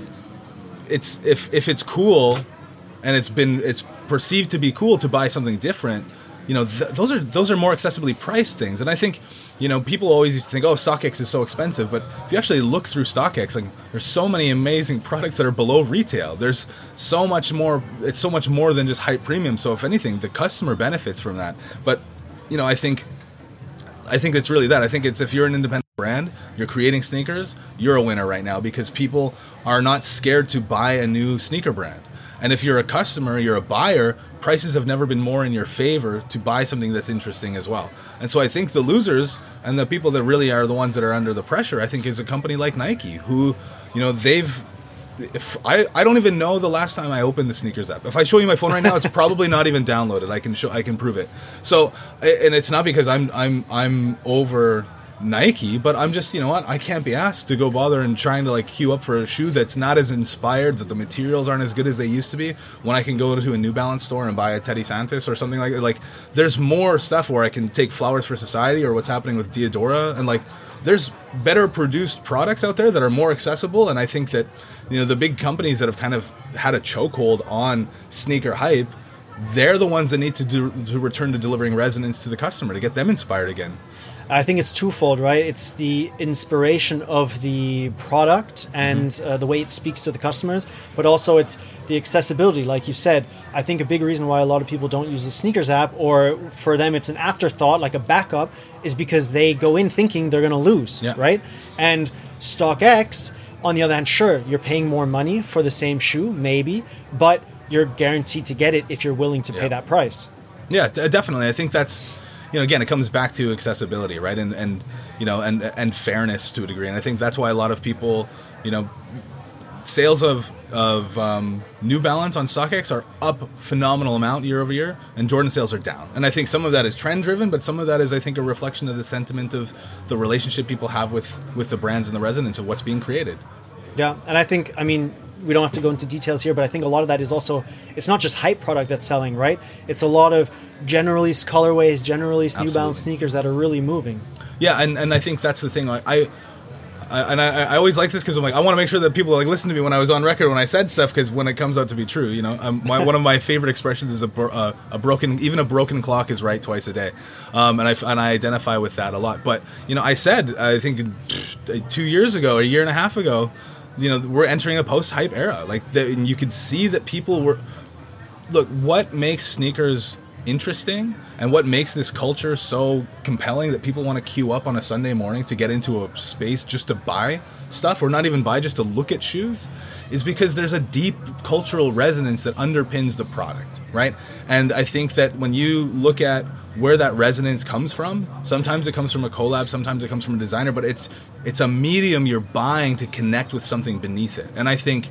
it's if it's cool, and it's perceived to be cool to buy something different. Those are more accessibly priced things. And I think, people always used to think, StockX is so expensive. But if you actually look through StockX, like, there's so many amazing products that are below retail. There's so much more. It's so much more than just hype premium. So if anything, the customer benefits from that. But, I think it's really that. I think it's if you're an independent brand, you're creating sneakers, you're a winner right now because people are not scared to buy a new sneaker brand. And if you're a customer, you're a buyer, prices have never been more in your favor to buy something that's interesting as well. And so I think the losers and the people that really are the ones that are under the pressure, I think, is a company like Nike, who, you know, I don't even know the last time I opened the sneakers app. If I show you my phone right now, it's probably not even downloaded. I can prove it. So, and it's not because I'm over Nike, but I'm just, you know what, I can't be asked to go bother and trying to like queue up for a shoe that's not as inspired, that the materials aren't as good as they used to be, when I can go to a New Balance store and buy a Teddy Santis or something like that. Like, there's more stuff where I can take Flowers for Society or what's happening with Diadora, and like, there's better produced products out there that are more accessible. And I think that, you know, the big companies that have kind of had a chokehold on sneaker hype, they're the ones that need to return to delivering resonance to the customer to get them inspired again. I think it's twofold, right? It's the inspiration of the product and the way it speaks to the customers, but also it's the accessibility, like you said. I think a big reason why a lot of people don't use the sneakers app, or for them it's an afterthought, like a backup, is because they go in thinking they're going to lose, right? And StockX, on the other hand, sure, you're paying more money for the same shoe, maybe, but you're guaranteed to get it if you're willing to pay that price. Yeah, definitely. I think that's, you know, again, it comes back to accessibility, right? And you know, and fairness to a degree. And I think that's why a lot of people, you know, sales of New Balance on StockX are up phenomenal amount year over year, and Jordan sales are down. And I think some of that is trend driven, but some of that is, I think, a reflection of the sentiment of the relationship people have with the brands and the resonance of what's being created. Yeah, and I think, I mean, we don't have to go into details here, but I think a lot of that is also, it's not just hype product that's selling, right? It's a lot of generally colorways, generally New Balance sneakers that are really moving. Yeah, and I think that's the thing. I always like this because I'm like, I want to make sure that people like listen to me when I was on record when I said stuff, because when it comes out to be true, you know, one of my favorite expressions is a broken clock is right twice a day, and I identify with that a lot. But you know, I said, I think 2 years ago, a year and a half ago, you know, we're entering a post-hype era. Like, and you could see that people were, look, what makes sneakers interesting and what makes this culture so compelling that people want to queue up on a Sunday morning to get into a space just to buy stuff, or not even buy, just to look at shoes, is because there's a deep cultural resonance that underpins the product, right? And I think that when you look at where that resonance comes from, sometimes it comes from a collab, sometimes it comes from a designer, but it's a medium you're buying to connect with something beneath it. And I think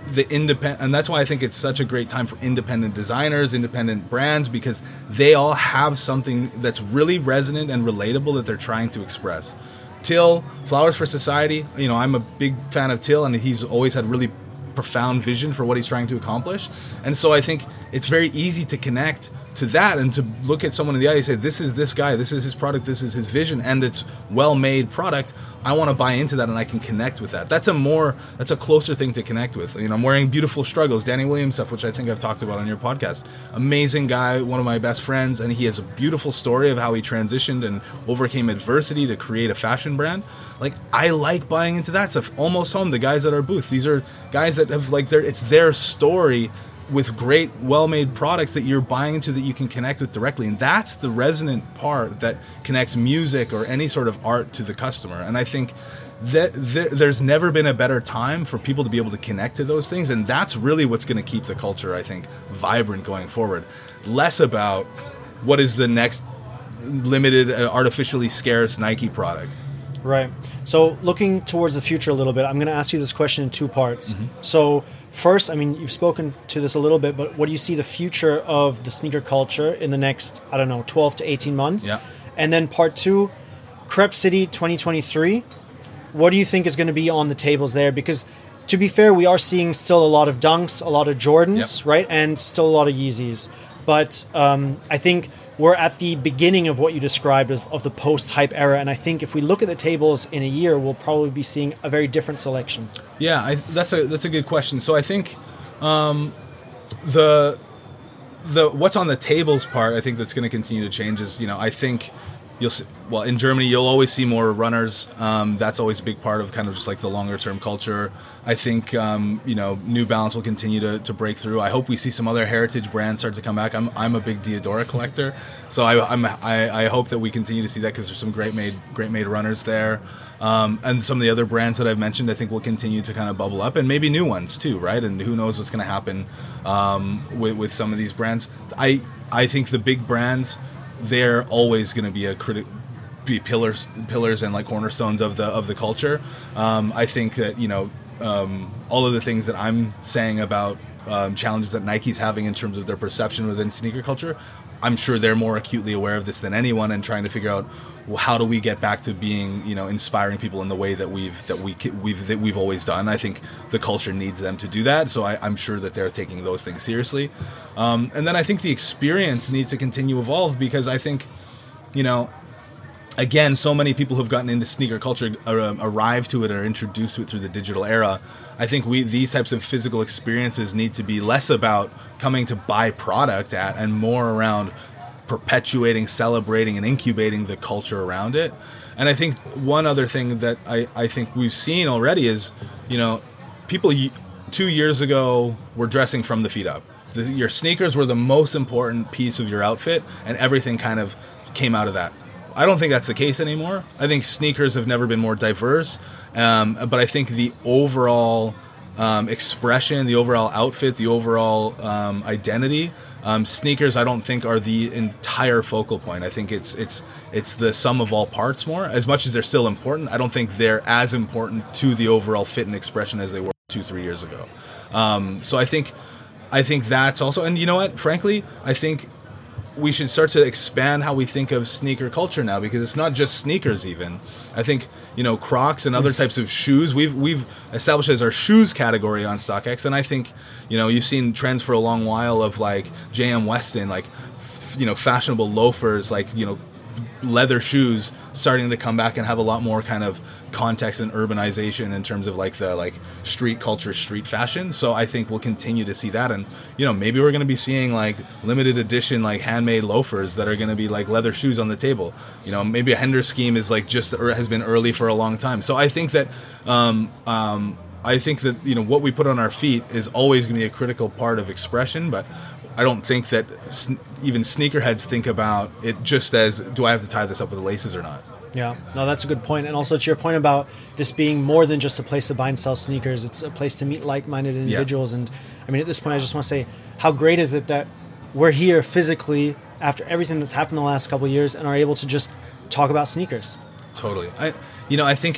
and that's why I think it's such a great time for independent designers, independent brands, because they all have something that's really resonant and relatable that they're trying to express. Till, Flowers for Society, you know, I'm a big fan of Till, and he's always had really profound vision for what he's trying to accomplish. And so I think it's very easy to connect to that and to look at someone in the eye and say, this is this guy, this is his product, this is his vision, and it's well-made product. I want to buy into that, and I can connect with that. That's a closer thing to connect with. You know, I'm wearing Beautiful Struggles, Danny Williams stuff, which I think I've talked about on your podcast. Amazing guy, one of my best friends, and he has a beautiful story of how he transitioned and overcame adversity to create a fashion brand. Like, I like buying into that stuff. Almost Home, the guys at our booth, these are guys that have, like, it's their story with great, well-made products that you're buying into, that you can connect with directly. And that's the resonant part that connects music or any sort of art to the customer. And I think that there's never been a better time for people to be able to connect to those things. And that's really what's going to keep the culture, I think, vibrant going forward. Less about what is the next limited, artificially scarce Nike product. Right. So looking towards the future a little bit, I'm going to ask you this question in two parts. So first, I mean, you've spoken to this a little bit, but what do you see the future of the sneaker culture in the next, 12 to 18 months? Yeah. And then part two, Crep City 2023, what do you think is going to be on the tables there? Because to be fair, we are seeing still a lot of Dunks, a lot of Jordans, right? And still a lot of Yeezys. But I think we're at the beginning of what you described of the post-hype era, and I think if we look at the tables in a year, we'll probably be seeing a very different selection. Yeah, that's a good question. So I think the what's on the tables part, I think that's going to continue to change is, you know, I think you'll see, well, in Germany, you'll always see more runners. That's always a big part of kind of just like the longer term culture. I think, New Balance will continue to break through. I hope we see some other heritage brands start to come back. I'm a big Diadora collector, so I hope that we continue to see that, because there's some great made runners there. And some of the other brands that I've mentioned, I think will continue to kind of bubble up, and maybe new ones too, right? And who knows what's going to happen with some of these brands. I think the big brands, they're always going to be pillars and like cornerstones of the culture. I think that all of the things that I'm saying about challenges that Nike's having in terms of their perception within sneaker culture, I'm sure they're more acutely aware of this than anyone, and trying to figure out, well, how do we get back to being inspiring people in the way that we've always done. I think the culture needs them to do that, so I'm sure that they're taking those things seriously. And then I think the experience needs to continue to evolve, because I think again, so many people who've gotten into sneaker culture arrive to it or introduced to it through the digital era. I think these types of physical experiences need to be less about coming to buy product at, and more around perpetuating, celebrating, and incubating the culture around it. And I think one other thing that I think we've seen already is, people 2 years ago were dressing from the feet up. Your sneakers were the most important piece of your outfit, and everything kind of came out of that. I don't think that's the case anymore. I think sneakers have never been more diverse, but I think the overall expression, the overall outfit, the overall identity, sneakers I don't think are the entire focal point. I think it's the sum of all parts more. As much as they're still important, I don't think they're as important to the overall fit and expression as they were 2-3 years ago. So I think that's also, and you know what, frankly, I think we should start to expand how we think of sneaker culture now, because it's not just sneakers even. I think, Crocs and other types of shoes, we've established as our shoes category on StockX, and I think, you've seen trends for a long while of like J.M. Weston, like, fashionable loafers, like, leather shoes starting to come back and have a lot more kind of context and urbanization in terms of like the street culture, street fashion. So I think we'll continue to see that, and maybe we're going to be seeing like limited edition like handmade loafers that are going to be like leather shoes on the table. Maybe a Hender scheme is like has been early for a long time. So I think that what we put on our feet is always going to be a critical part of expression, but I don't think that even sneakerheads think about it just as, do I have to tie this up with the laces or not? Yeah, no, that's a good point. And also to your point about this being more than just a place to buy and sell sneakers, it's a place to meet like-minded individuals. Yeah. And I mean, at this point, I just want to say, how great is it that we're here physically after everything that's happened the last couple of years and are able to just talk about sneakers? Totally. I think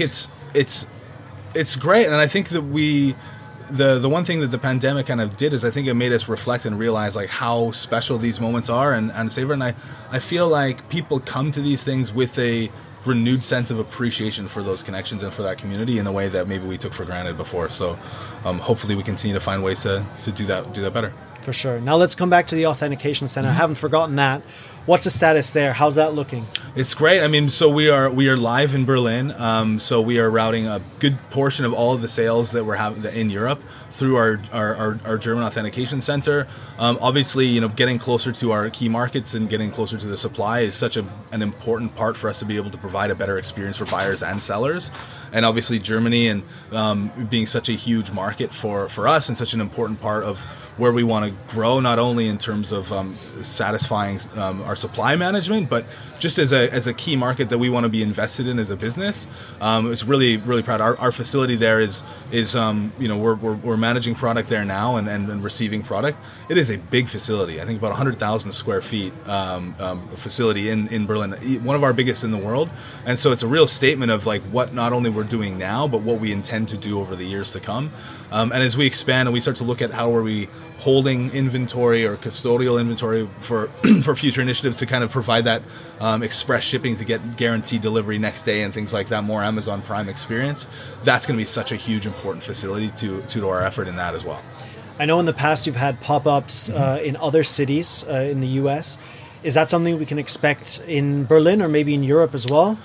it's great. And I think that the one thing that the pandemic kind of did is I think it made us reflect and realize like how special these moments are and savor. And I feel like people come to these things with a renewed sense of appreciation for those connections and for that community in a way that maybe we took for granted before. So hopefully we continue to find ways to do that better. For sure. Now let's come back to the Authentication Center. Mm-hmm. I haven't forgotten that. What's the status there? How's that looking? It's great. I mean, so we are live in Berlin. So we are routing a good portion of all of the sales that we're having in Europe through our German Authentication Center. Obviously, getting closer to our key markets and getting closer to the supply is such an important part for us to be able to provide a better experience for buyers and sellers. And obviously Germany and being such a huge market for us and such an important part of where we want to grow, not only in terms of satisfying our supply management, but just as a key market that we want to be invested in as a business. It's really, really proud. Our facility there is we're managing product there now and receiving product. It is a big facility. I think about 100,000 square feet facility in Berlin, one of our biggest in the world. And so it's a real statement of like what not only we're doing now, but what we intend to do over the years to come. And as we expand and we start to look at how are we holding inventory or custodial inventory for future initiatives to kind of provide that express shipping to get guaranteed delivery next day and things like that, more Amazon Prime experience, that's going to be such a huge important facility to our effort in that as well. I know in the past you've had pop-ups in other cities in the US. Is that something we can expect in Berlin or maybe in Europe as well?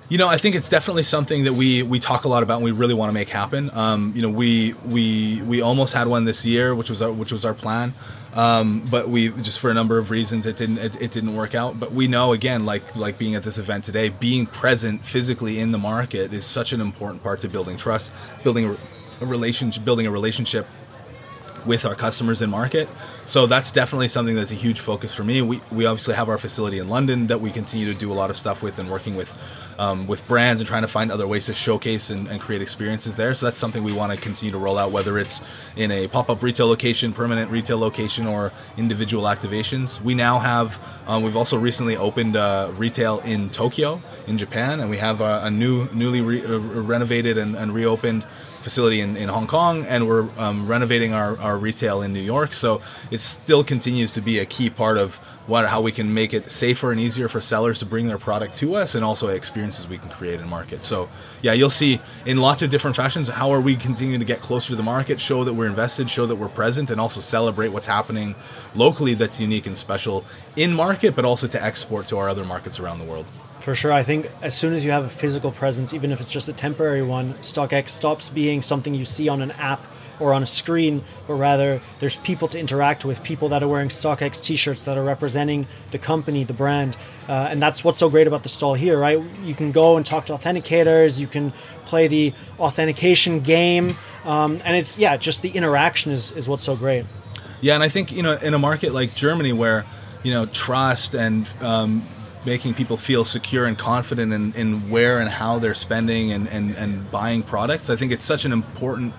I think it's definitely something that we talk a lot about and we really want to make happen. We almost had one this year, which was our plan, but we just for a number of reasons it didn't work out. But we know, again, like being at this event today, being present physically in the market is such an important part to building trust, building a relationship with our customers in market. So that's definitely something that's a huge focus for me. We obviously have our facility in London that we continue to do a lot of stuff with and working with brands and trying to find other ways to showcase and create experiences there. So that's something we want to continue to roll out, whether it's in a pop-up retail location, permanent retail location, or individual activations. We now have, we've also recently opened retail in Tokyo, in Japan, and we have a newly renovated and reopened facility in Hong Kong, and we're renovating our retail in New York. So it still continues to be a key part of how we can make it safer and easier for sellers to bring their product to us, and also experiences we can create in market. So yeah, you'll see in lots of different fashions how are we continuing to get closer to the market, show that we're invested, show that we're present, and also celebrate what's happening locally that's unique and special in market, but also to export to our other markets around the world. For sure. I think as soon as you have a physical presence, even if it's just a temporary one, StockX stops being something you see on an app or on a screen, but rather there's people to interact with, people that are wearing StockX t-shirts that are representing the company, the brand. And that's what's so great about the stall here, right? You can go and talk to authenticators, you can play the authentication game. And it's, just the interaction is what's so great. Yeah, and I think, in a market like Germany where, trust and making people feel secure and confident in where and how they're spending and buying products, I think it's such an important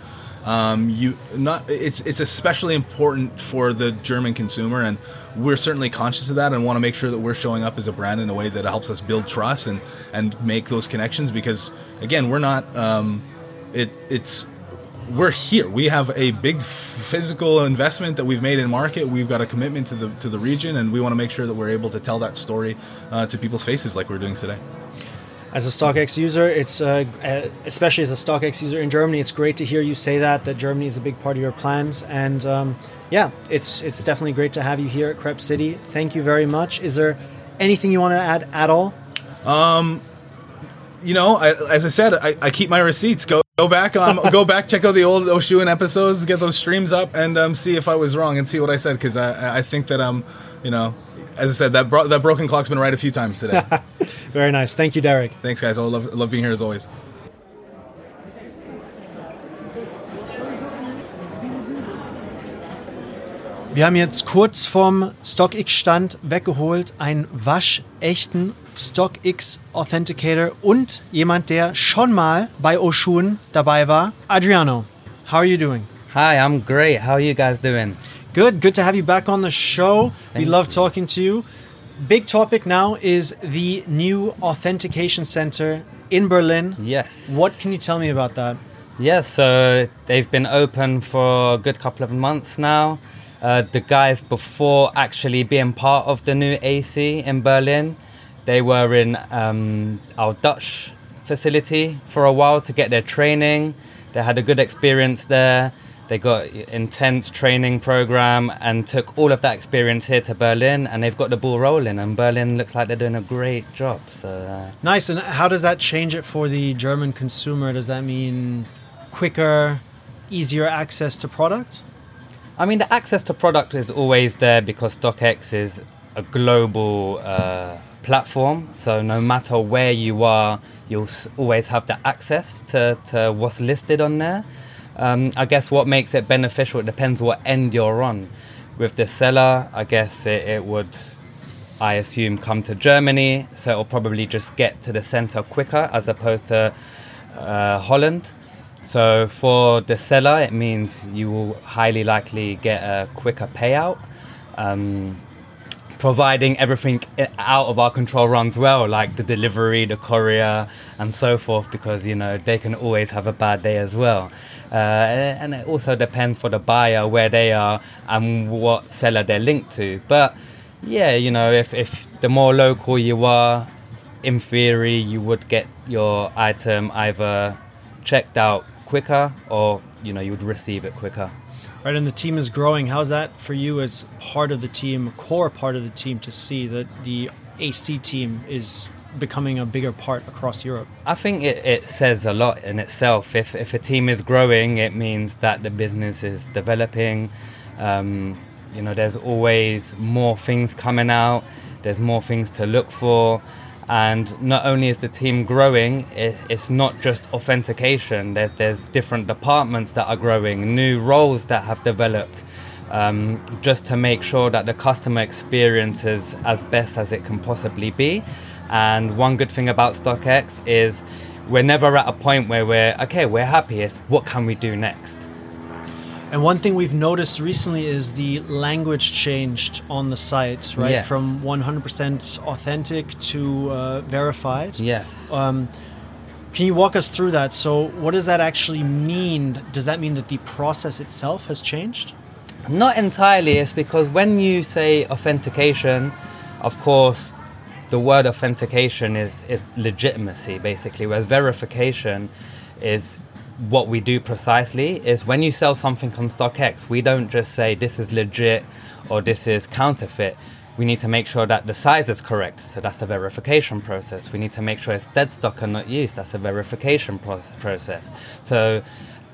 it's especially important for the German consumer, and we're certainly conscious of that and want to make sure that we're showing up as a brand in a way that helps us build trust and make those connections, because again, we're not we're here. We have a big physical investment that we've made in market. We've got a commitment to the region, and we want to make sure that we're able to tell that story to people's faces like we're doing today. As a StockX user, it's especially as a StockX user in Germany, it's great to hear you say that Germany is a big part of your plans. And it's definitely great to have you here at Crêpe City. Thank you very much. Is there anything you want to add at all? As I said, I keep my receipts. Go back, check out the old Oshun episodes, get those streams up, and see if I was wrong and see what I said, because I think that as I said, that broken clock's been right a few times today. Very nice. Thank you, Derek. Thanks, guys. I love being here as always. Wir haben jetzt kurz vom StockX-Stand weggeholt einen waschechten StockX Authenticator und jemand, der schon mal bei Oshun dabei war. Adriano, how are you doing? Hi, I'm great. How are you guys doing? Good to have you back on the show. We love talking to you. Big topic now is the new authentication center in Berlin. Yes. What can you tell me about that? Yes, so they've been open for a good couple of months now. The guys before actually being part of the new AC in Berlin, they were in our Dutch facility for a while to get their training. They had a good experience there. They got intense training program and took all of that experience here to Berlin, and they've got the ball rolling, and Berlin looks like they're doing a great job. So nice. And how does that change it for the German consumer? Does that mean quicker, easier access to product? I mean, the access to product is always there because StockX is a global platform. So no matter where you are, you'll always have the access to what's listed on there. I guess what makes it beneficial, it depends what end you're on. With the seller, I guess it would, I assume, come to Germany, so it'll probably just get to the center quicker as opposed to Holland. So for the seller, it means you will highly likely get a quicker payout, providing everything out of our control runs well, like the delivery, the courier, and so forth, because, they can always have a bad day as well. And it also depends for the buyer where they are and what seller they're linked to. But yeah, if the more local you are, in theory, you would get your item either checked out quicker or, you would receive it quicker. Right, and the team is growing. How's that for you as part of the team, core part of the team, to see that the AC team is becoming a bigger part across Europe? I think it says a lot in itself. If a team is growing, it means that the business is developing. There's always more things coming out. There's more things to look for. And not only is the team growing, it's not just authentication. There's different departments that are growing, new roles that have developed, just to make sure that the customer experience is as best as it can possibly be. And one good thing about StockX is we're never at a point where we're happy. It's what can we do next? And one thing we've noticed recently is the language changed on the site, right? Yes. From 100% authentic to verified. Yes. Can you walk us through that? So what does that actually mean? Does that mean that the process itself has changed? Not entirely. It's because when you say authentication, of course, the word authentication is legitimacy, basically, whereas verification is what we do precisely. Is when you sell something on StockX, we don't just say this is legit or this is counterfeit. We need to make sure that the size is correct. So that's the verification process. We need to make sure it's dead stock and not used. That's a verification process. So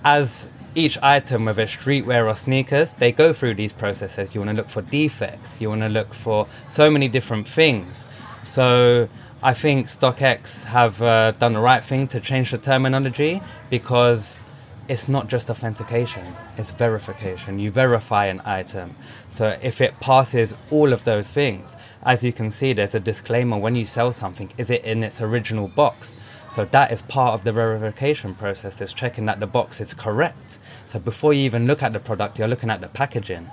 as each item, whether it's streetwear or sneakers, they go through these processes. You want to look for defects. You want to look for so many different things. So I think StockX have done the right thing to change the terminology, because it's not just authentication, it's verification. You verify an item. So if it passes all of those things, as you can see, there's a disclaimer when you sell something, is it in its original box? So that is part of the verification process, is checking that the box is correct. So before you even look at the product, you're looking at the packaging.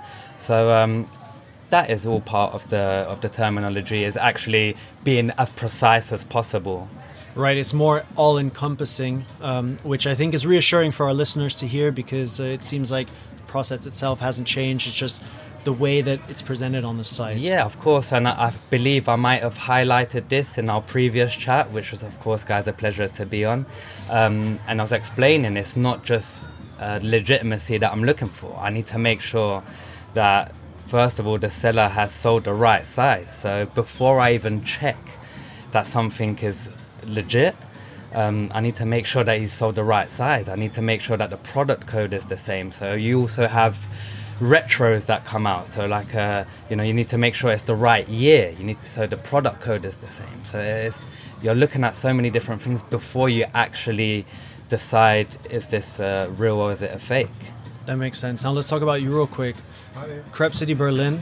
So that is all part of the terminology, is actually being as precise as possible. Right, it's more all-encompassing, which I think is reassuring for our listeners to hear, because it seems like the process itself hasn't changed. It's just the way that it's presented on the site. Yeah, of course, and I believe I might have highlighted this in our previous chat, which was, of course, guys, a pleasure to be on. And I was explaining it's not just legitimacy that I'm looking for. I need to make sure that, first of all, the seller has sold the right size. So before I even check that something is legit, I need to make sure that he's sold the right size. I need to make sure that the product code is the same. So you also have retros that come out. So like, you need to make sure it's the right year. So the product code is the same. So you're looking at so many different things before you actually decide, is this real or is it a fake? That makes sense. Now let's talk about you real quick. Crepe City Berlin.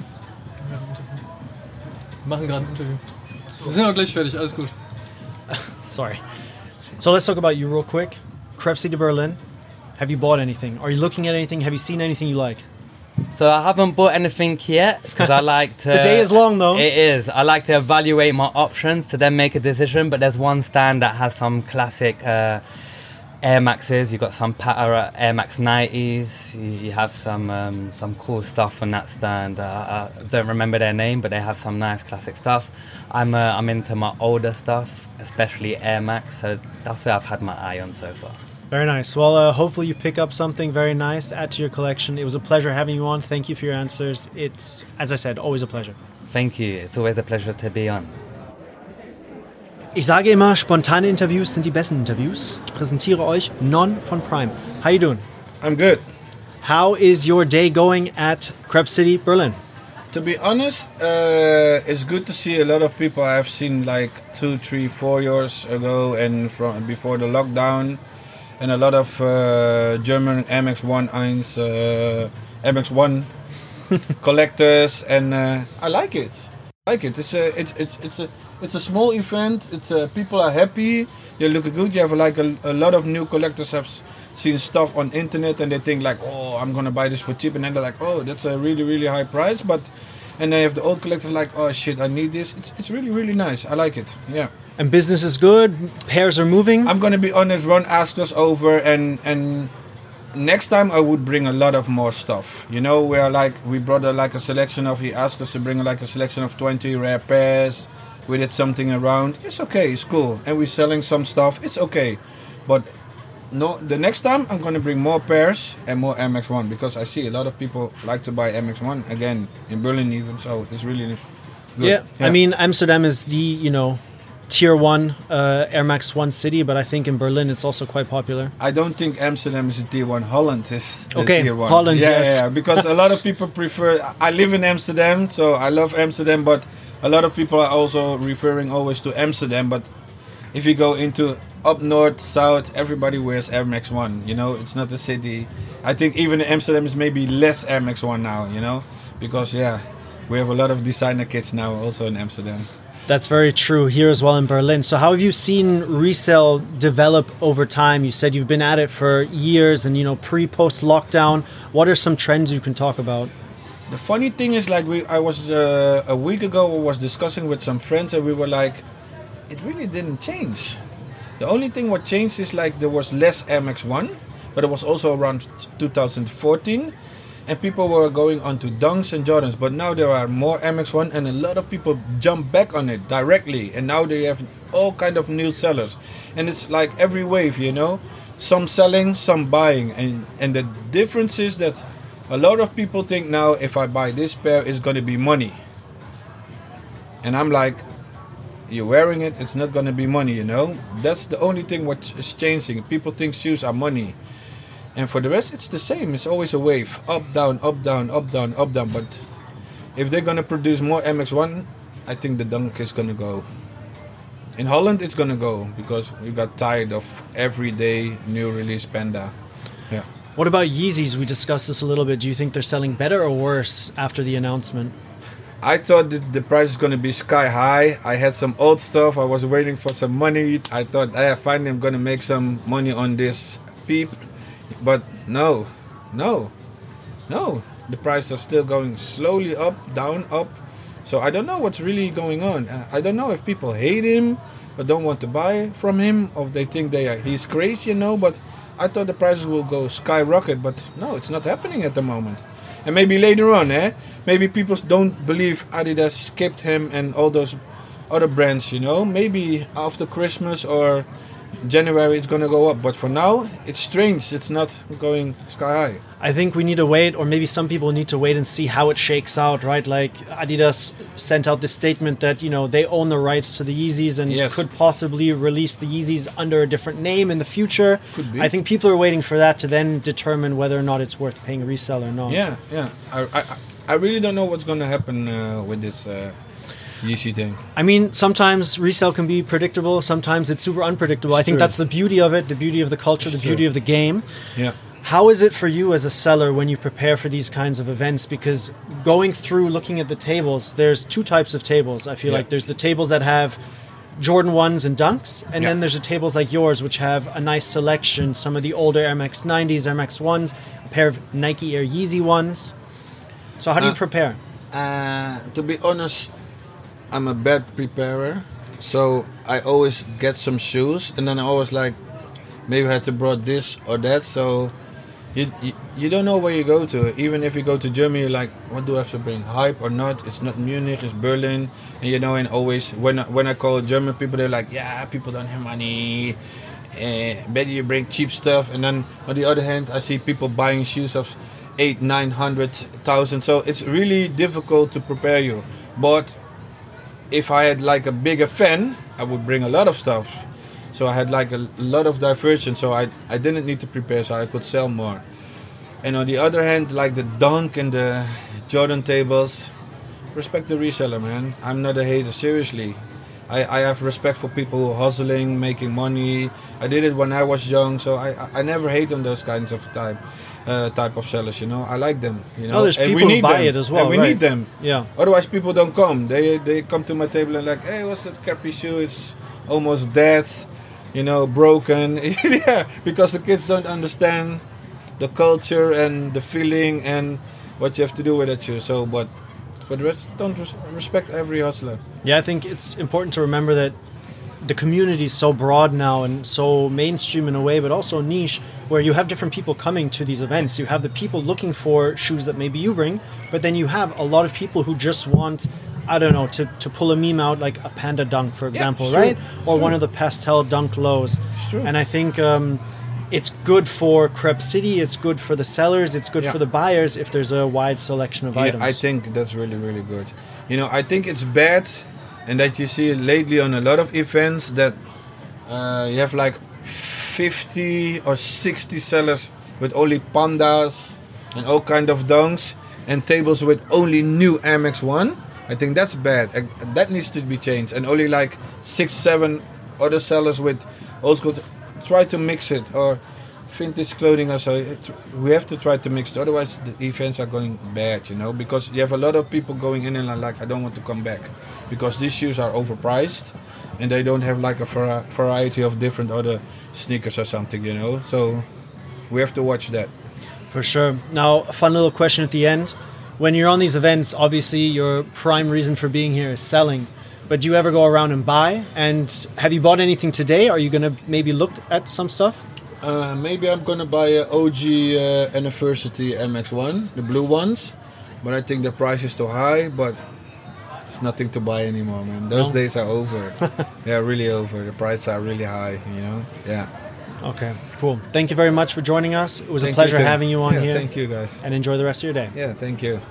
Machen gerade ein Interview. Wir sind auch gleich fertig, alles gut. Sorry. So let's talk about you real quick. Crepe City Berlin. Have you bought anything? Are you looking at anything? Have you seen anything you like? So I haven't bought anything yet, because I like to... The day is long, though. It is. I like to evaluate my options to then make a decision, but there's one stand that has some classic Air Maxes. You've got some Air Max 90s. You have some cool stuff on that stand. I don't remember their name, but they have some nice classic stuff. I'm into my older stuff, especially Air Max, so that's where I've had my eye on so far. Very nice. Well, hopefully you pick up something very nice, add to your collection. It was a pleasure having you on. Thank you for your answers. It's, as I said, always a pleasure. Thank you. It's always a pleasure to be on. Ich sage immer, spontane Interviews sind die besten Interviews. Ich präsentiere euch Non von Prime. How you doing? I'm good. How is your day going at Crepe City Berlin? To be honest, it's good to see a lot of people I've seen like 2, 3, 4 years ago and from before the lockdown, and a lot of German MX1 MX1 collectors, and I like it. It's a small event. People are happy. They look good. You have like a lot of new collectors have seen stuff on internet and they think like, oh, I'm gonna buy this for cheap, and then they're like, oh, that's a really, really high price. And they have the old collectors like, oh shit, I need this. It's really, really nice. I like it. Yeah. And business is good. Pairs are moving. I'm gonna be honest. Ron asked us over, and next time I would bring a lot of more stuff. We brought a selection of. He asked us to bring a selection of 20 rare pairs. We did something around. It's okay. It's cool, and we're selling some stuff. It's okay, but. No, the next time I'm going to bring more pairs and more MX1, because I see a lot of people like to buy MX1 again in Berlin even, so it's really good. Yeah. I mean, Amsterdam is the, tier 1 Air Max 1 city, but I think in Berlin it's also quite popular. I don't think Amsterdam is a tier 1. Holland is the Okay, tier 1. Holland, yes. Yeah, because a lot of people prefer... I live in Amsterdam, so I love Amsterdam, but a lot of people are also referring always to Amsterdam. But if you go into up north, south, everybody wears Air Max 1, you know? It's not a city. I think even Amsterdam is maybe less Air Max 1 now, you know? Because, yeah, we have a lot of designer kits now also in Amsterdam. That's very true here as well in Berlin. So how have you seen resale develop over time? You said you've been at it for years and, you know, pre-post lockdown. What are some trends you can talk about? The funny thing is, like, I was a week ago, I was discussing with some friends and we were like, it really didn't change. The only thing what changed is like there was less Air Max 1, but it was also around 2014. And people were going on to Dunks and Jordans, but now there are more Air Max 1 and a lot of people jump back on it directly. And now they have all kind of new sellers. And it's like every wave, you know, some selling, some buying. And the difference is that a lot of people think now if I buy this pair, it's going to be money. And I'm like, you're wearing it, it's not going to be money, you know. That's the only thing what is changing. People think shoes are money. And for the rest, it's the same. It's always a wave. Up, down, up, down, up, down, up, down. But if they're going to produce more MX-1, I think the Dunk is going to go. In Holland, it's going to go. Because we got tired of everyday new release Panda. Yeah. What about Yeezys? We discussed this a little bit. Do you think they're selling better or worse after the announcement? I thought that the price is going to be sky high. I had some old stuff. I was waiting for some money. I thought, finally I'm going to make some money on this peep. But no. The prices are still going slowly up, down, up. So I don't know what's really going on. I don't know if people hate him but don't want to buy from him, or if they think he's crazy, you know. But I thought the prices will go skyrocket, but no, it's not happening at the moment. And maybe later on, maybe people don't believe Adidas skipped him and all those other brands, you know. Maybe after Christmas or January it's gonna go up, but for now it's strange. It's not going sky high. I think we need to wait, or maybe some people need to wait and see how it shakes out, right? Like Adidas sent out this statement that, you know, they own the rights to the Yeezys and Yes. could possibly release the Yeezys under a different name in the future. Could be. I think people are waiting for that to then determine whether or not it's worth paying resale or not. Yeah. I really don't know what's gonna happen with this Yeezy thing. I mean, sometimes resale can be predictable. Sometimes it's super unpredictable. I think true. that's the beauty of it, the beauty of the culture, the beauty of the game. Yeah. How is it for you as a seller when you prepare for these kinds of events? Because going through, looking at the tables, there's two types of tables. I feel Yeah. like there's the tables that have Jordan 1s and Dunks, and Yeah. then there's the tables like yours, which have a nice selection, some of the older Air Max 90s, Air Max 1s, a pair of Nike Air Yeezy 1s. So how do you prepare? To be honest, I'm a bad preparer, so I always get some shoes, and then I always like, maybe I had to brought this or that. So you don't know where you go to. Even if you go to Germany, you're like, what do I have to bring? Hype or not? It's not Munich, it's Berlin, and you know. And always when I call German people, they're like, yeah, people don't have money. Better you bring cheap stuff. And then on the other hand, I see people buying shoes of 800,000-900,000. So it's really difficult to prepare you. But if I had like a bigger fan, I would bring a lot of stuff. So I had like a lot of diversion, so I didn't need to prepare, so I could sell more. And on the other hand, like the Dunk and the Jordan tables, respect the reseller, man. I'm not a hater, seriously. I have respect for people who are hustling, making money. I did it when I was young, so I never hate on those kinds of type of sellers, you know. I like them, you know. Oh, there's And people we who need buy them. it as well, And we right. need them. Yeah. Otherwise, people don't come. They come to my table and like, hey, what's that crappy shoe? It's almost dead, you know, broken. Yeah, because the kids don't understand the culture and the feeling and what you have to do with that shoe. So, but for the rest, don't respect every hustler. Yeah, I think it's important to remember that the community is so broad now and so mainstream in a way, but also niche, where you have different people coming to these events. You have the people looking for shoes that maybe you bring, but then you have a lot of people who just want, I don't know, to pull a meme out, like a Panda Dunk, for example, sure, right? Or sure. one of the pastel Dunk lows. True. And I think it's good for Crep City, it's good for the sellers, it's good Yeah. for the buyers if there's a wide selection of items. I think that's really, really good. You know, I think it's bad and that you see lately on a lot of events that you have like 50 or 60 sellers with only pandas and all kind of donks, and tables with only new Air Max 1. I think that's bad. That needs to be changed. And only like 6-7 other sellers with old school. Try to mix it, or vintage clothing also. We have to try to mix it. Otherwise the events are going bad, you know, because you have a lot of people going in and are like, I don't want to come back because these shoes are overpriced and they don't have like a variety of different other sneakers or something, you know. So we have to watch that. For sure. Now, a fun little question at the end. When you're on these events, obviously your prime reason for being here is selling. But do you ever go around and buy? And have you bought anything today? Are you going to maybe look at some stuff? Maybe I'm going to buy an OG Anniversary MX-1, the blue ones. But I think the price is too high, but it's nothing to buy anymore, man. Those days are over. They're really over. The prices are really high, you know? Yeah. Okay, cool. Thank you very much for joining us. It was a pleasure having you on here. Thank you, guys. And enjoy the rest of your day. Yeah, thank you.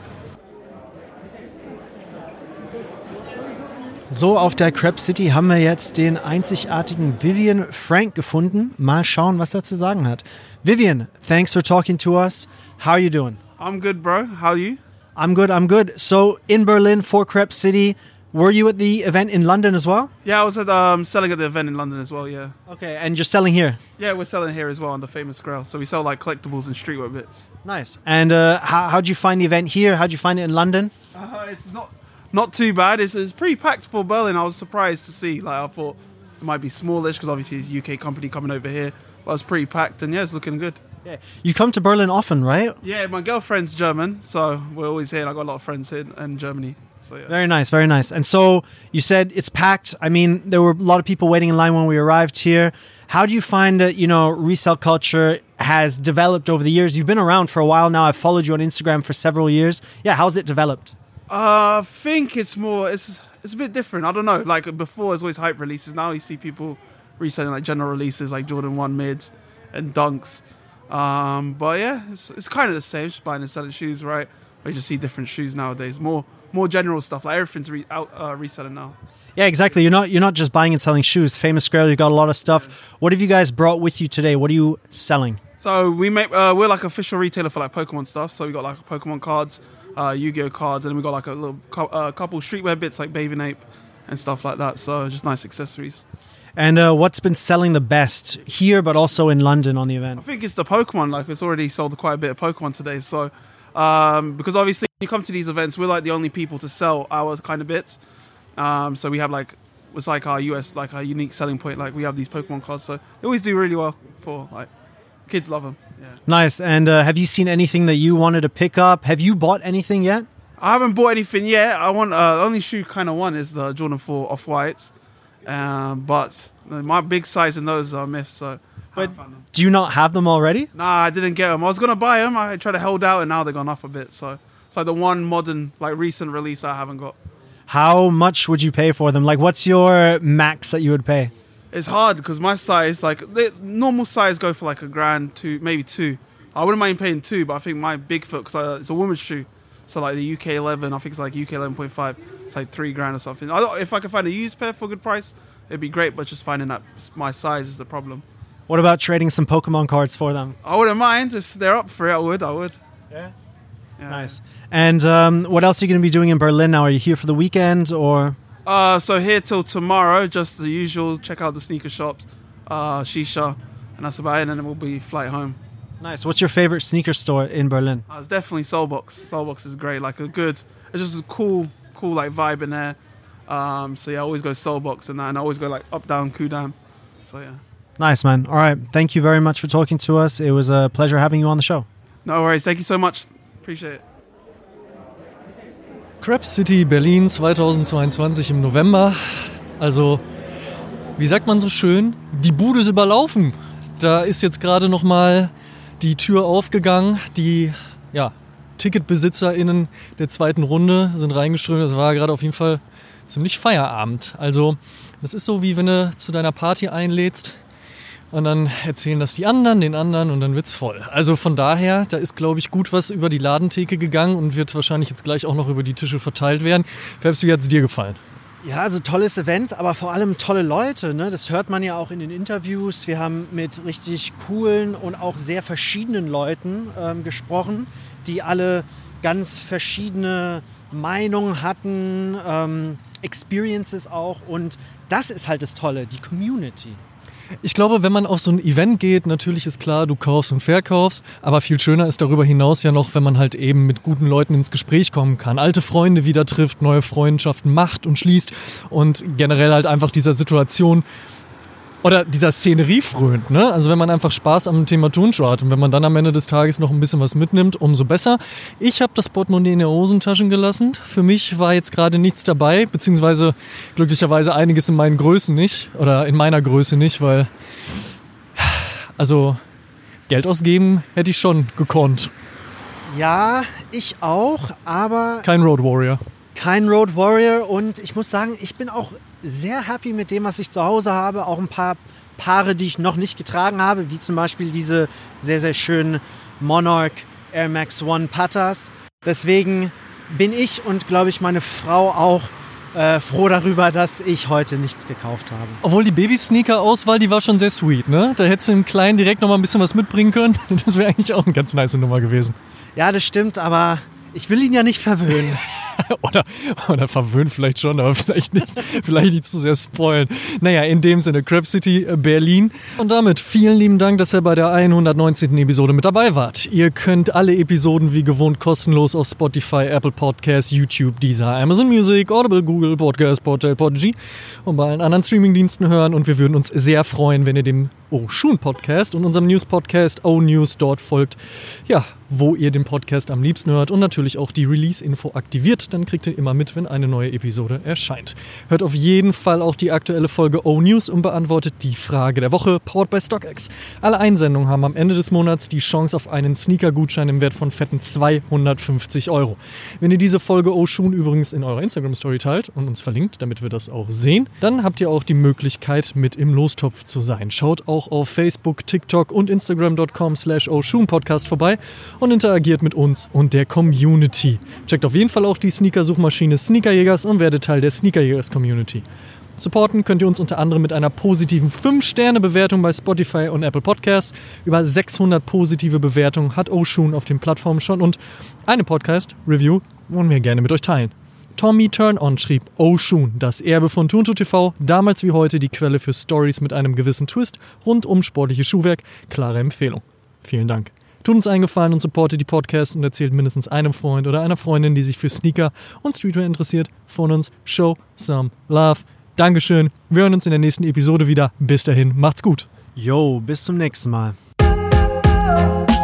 So, auf der Crep City haben wir jetzt den einzigartigen Vivian Frank gefunden. Mal schauen, was er zu sagen hat. Vivian, thanks for talking to us. How are you doing? I'm good, bro. How are you? I'm good. So, in Berlin for Crep City, were you at the event in London as well? Yeah, I was at selling at the event in London as well, yeah. Okay, and you're selling here? Yeah, we're selling here as well on the Famous Grail. So we sell like collectibles and streetwear bits. Nice. And how'd you find the event here? How'd you find it in London? It's not too bad. It's pretty packed for Berlin. I was surprised to see. Like, I thought it might be smallish because obviously it's a UK company coming over here. But it's pretty packed and yeah, it's looking good. Yeah. You come to Berlin often, right? Yeah, my girlfriend's German, so we're always here. And I've got a lot of friends here in Germany. So, yeah. Very nice. And so you said it's packed. I mean, there were a lot of people waiting in line when we arrived here. How do you find that, resale culture has developed over the years? You've been around for a while now. I've followed you on Instagram for several years. Yeah, how's it developed? I think it's a bit different. I don't know. Like before, it was always hype releases. Now you see people reselling like general releases like Jordan 1 mids and dunks. But yeah, it's kind of the same. Just buying and selling shoes, right? We just see different shoes nowadays. More general stuff. Like everything's reselling now. Yeah, exactly. You're not just buying and selling shoes. Famous Grail, you've got a lot of stuff. Yeah. What have you guys brought with you today? What are you selling? So we make we're like official retailer for like Pokemon stuff. So we got like Pokemon cards, Yu-Gi-Oh cards, and then we got like a little couple streetwear bits like Bathing Ape and stuff like that. So just nice accessories. And what's been selling the best here, but also in London on the event? I think it's the Pokemon. Like it's already sold quite a bit of Pokemon today. So because obviously when you come to these events, we're like the only people to sell our kind of bits. So we have it's like our our unique selling point. Like we have these Pokemon cards, so they always do really well for like kids love them. Yeah. Nice. And have you seen anything that you wanted to pick up? Have you bought anything yet? I haven't bought anything yet. I want the only shoe kind of one is the Jordan 4 Off-Whites, but my big size in those are myths. So. But do you not have them already? Nah, I didn't get them. I was gonna buy them. I tried to hold out, and now they've gone up a bit. So it's like the one modern, like recent release I haven't got. How much would you pay for them? Like, what's your max that you would pay? It's hard because my size, like the normal size, go for like $1,000 maybe $2,000. I wouldn't mind paying $2,000, but I think my big foot, because it's a woman's shoe, so like the UK 11, I think it's like UK 11.5. It's like $3,000 or something. If I could find a used pair for a good price, it'd be great. But just finding that my size is the problem. What about trading some Pokemon cards for them? I wouldn't mind. If they're up for it, I would. Yeah. Nice. And what else are you going to be doing in Berlin now? Are you here for the weekend or? So here till tomorrow, just the usual. Check out the sneaker shops, Shisha, and that's about it. And then we'll be flight home. Nice. What's your favorite sneaker store in Berlin? It's definitely Soulbox. Soulbox is great. Like it's just a cool like vibe in there. So yeah, I always go Soulbox and that, and I always go like up, down, Kudam. So yeah. Nice, man. All right. Thank you very much for talking to us. It was a pleasure having you on the show. No worries. Thank you so much. Appreciate it. Crep City Berlin 2022 im November. Also, wie sagt man so schön? Die Bude ist überlaufen. Da ist jetzt gerade nochmal die Tür aufgegangen. Die TicketbesitzerInnen der zweiten Runde sind reingeströmt. Das war gerade auf jeden Fall ziemlich Feierabend. Also, das ist so, wie wenn du zu deiner Party einlädst und dann erzählen das die anderen, den anderen und dann wird's voll. Also von daher, da ist, glaube ich, gut was über die Ladentheke gegangen und wird wahrscheinlich jetzt gleich auch noch über die Tische verteilt werden. Fabs, wie hat's dir gefallen? Ja, also tolles Event, aber vor allem tolle Leute, ne? Das hört man ja auch in den Interviews. Wir haben mit richtig coolen und auch sehr verschiedenen Leuten gesprochen, die alle ganz verschiedene Meinungen hatten, Experiences auch. Und das ist halt das Tolle, die Community. Ich glaube, wenn man auf so ein Event geht, natürlich ist klar, du kaufst und verkaufst, aber viel schöner ist darüber hinaus ja noch, wenn man halt eben mit guten Leuten ins Gespräch kommen kann, alte Freunde wieder trifft, neue Freundschaften macht und schließt und generell halt einfach dieser Situation oder dieser Szenerie frönt, ne? Also wenn man einfach Spaß am Thema Turnschuh hat und wenn man dann am Ende des Tages noch ein bisschen was mitnimmt, umso besser. Ich habe das Portemonnaie in der Hosentaschen gelassen. Für mich war jetzt gerade nichts dabei, beziehungsweise glücklicherweise einiges in meinen Größen nicht oder in meiner Größe nicht, weil also Geld ausgeben hätte ich schon gekonnt. Ja, ich auch, aber Kein Road Warrior. kein Road Warrior und ich muss sagen, ich bin auch sehr happy mit dem, was ich zu Hause habe. Auch ein paar Paare, die ich noch nicht getragen habe, wie zum Beispiel diese sehr, sehr schönen Monarch Air Max One Pattas. Deswegen bin ich und, glaube ich, meine Frau auch froh darüber, dass ich heute nichts gekauft habe. Obwohl die Baby-Sneaker-Auswahl, die war schon sehr sweet, ne? Da hättest du im Kleinen direkt noch mal ein bisschen was mitbringen können. Das wäre eigentlich auch eine ganz nice Nummer gewesen. Ja, das stimmt, aber ich will ihn ja nicht verwöhnen. Oder verwöhnt vielleicht schon, aber vielleicht nicht zu sehr spoilen. Naja, in dem Sinne, Crab City, Berlin. Und damit vielen lieben Dank, dass ihr bei der 119. Episode mit dabei wart. Ihr könnt alle Episoden wie gewohnt kostenlos auf Spotify, Apple Podcasts, YouTube, Deezer, Amazon Music, Audible, Google Podcast, Portal, Podigy und bei allen anderen Streamingdiensten hören. Und wir würden uns sehr freuen, wenn ihr dem Oshun Podcast und unserem News-Podcast O-News dort folgt. Ja, wo ihr den Podcast am liebsten hört und natürlich auch die Release-Info aktiviert. Dann kriegt ihr immer mit, wenn eine neue Episode erscheint. Hört auf jeden Fall auch die aktuelle Folge O-News und beantwortet die Frage der Woche, powered by StockX. Alle Einsendungen haben am Ende des Monats die Chance auf einen Sneaker-Gutschein im Wert von fetten 250 €. Wenn ihr diese Folge Oshun übrigens in eurer Instagram-Story teilt und uns verlinkt, damit wir das auch sehen, dann habt ihr auch die Möglichkeit, mit im Lostopf zu sein. Schaut auch auf Facebook, TikTok und Instagram.com/Oshun-Podcast vorbei und interagiert mit uns und der Community. Checkt auf jeden Fall auch die Sneaker-Suchmaschine Sneakerjägers und werdet Teil der Sneakerjägers-Community. Supporten könnt ihr uns unter anderem mit einer positiven 5-Sterne-Bewertung bei Spotify und Apple Podcasts. Über 600 positive Bewertungen hat Oshun auf den Plattformen schon und eine Podcast-Review wollen wir gerne mit euch teilen. Tommy Turn-On schrieb, Oshun, das Erbe von Turnschuh TV, damals wie heute die Quelle für Stories mit einem gewissen Twist rund um sportliches Schuhwerk. Klare Empfehlung. Vielen Dank. Tut uns einen Gefallen und supportet die Podcasts und erzählt mindestens einem Freund oder einer Freundin, die sich für Sneaker und Streetwear interessiert, von uns. Show some love. Dankeschön. Wir hören uns in der nächsten Episode wieder. Bis dahin, macht's gut. Yo, bis zum nächsten Mal.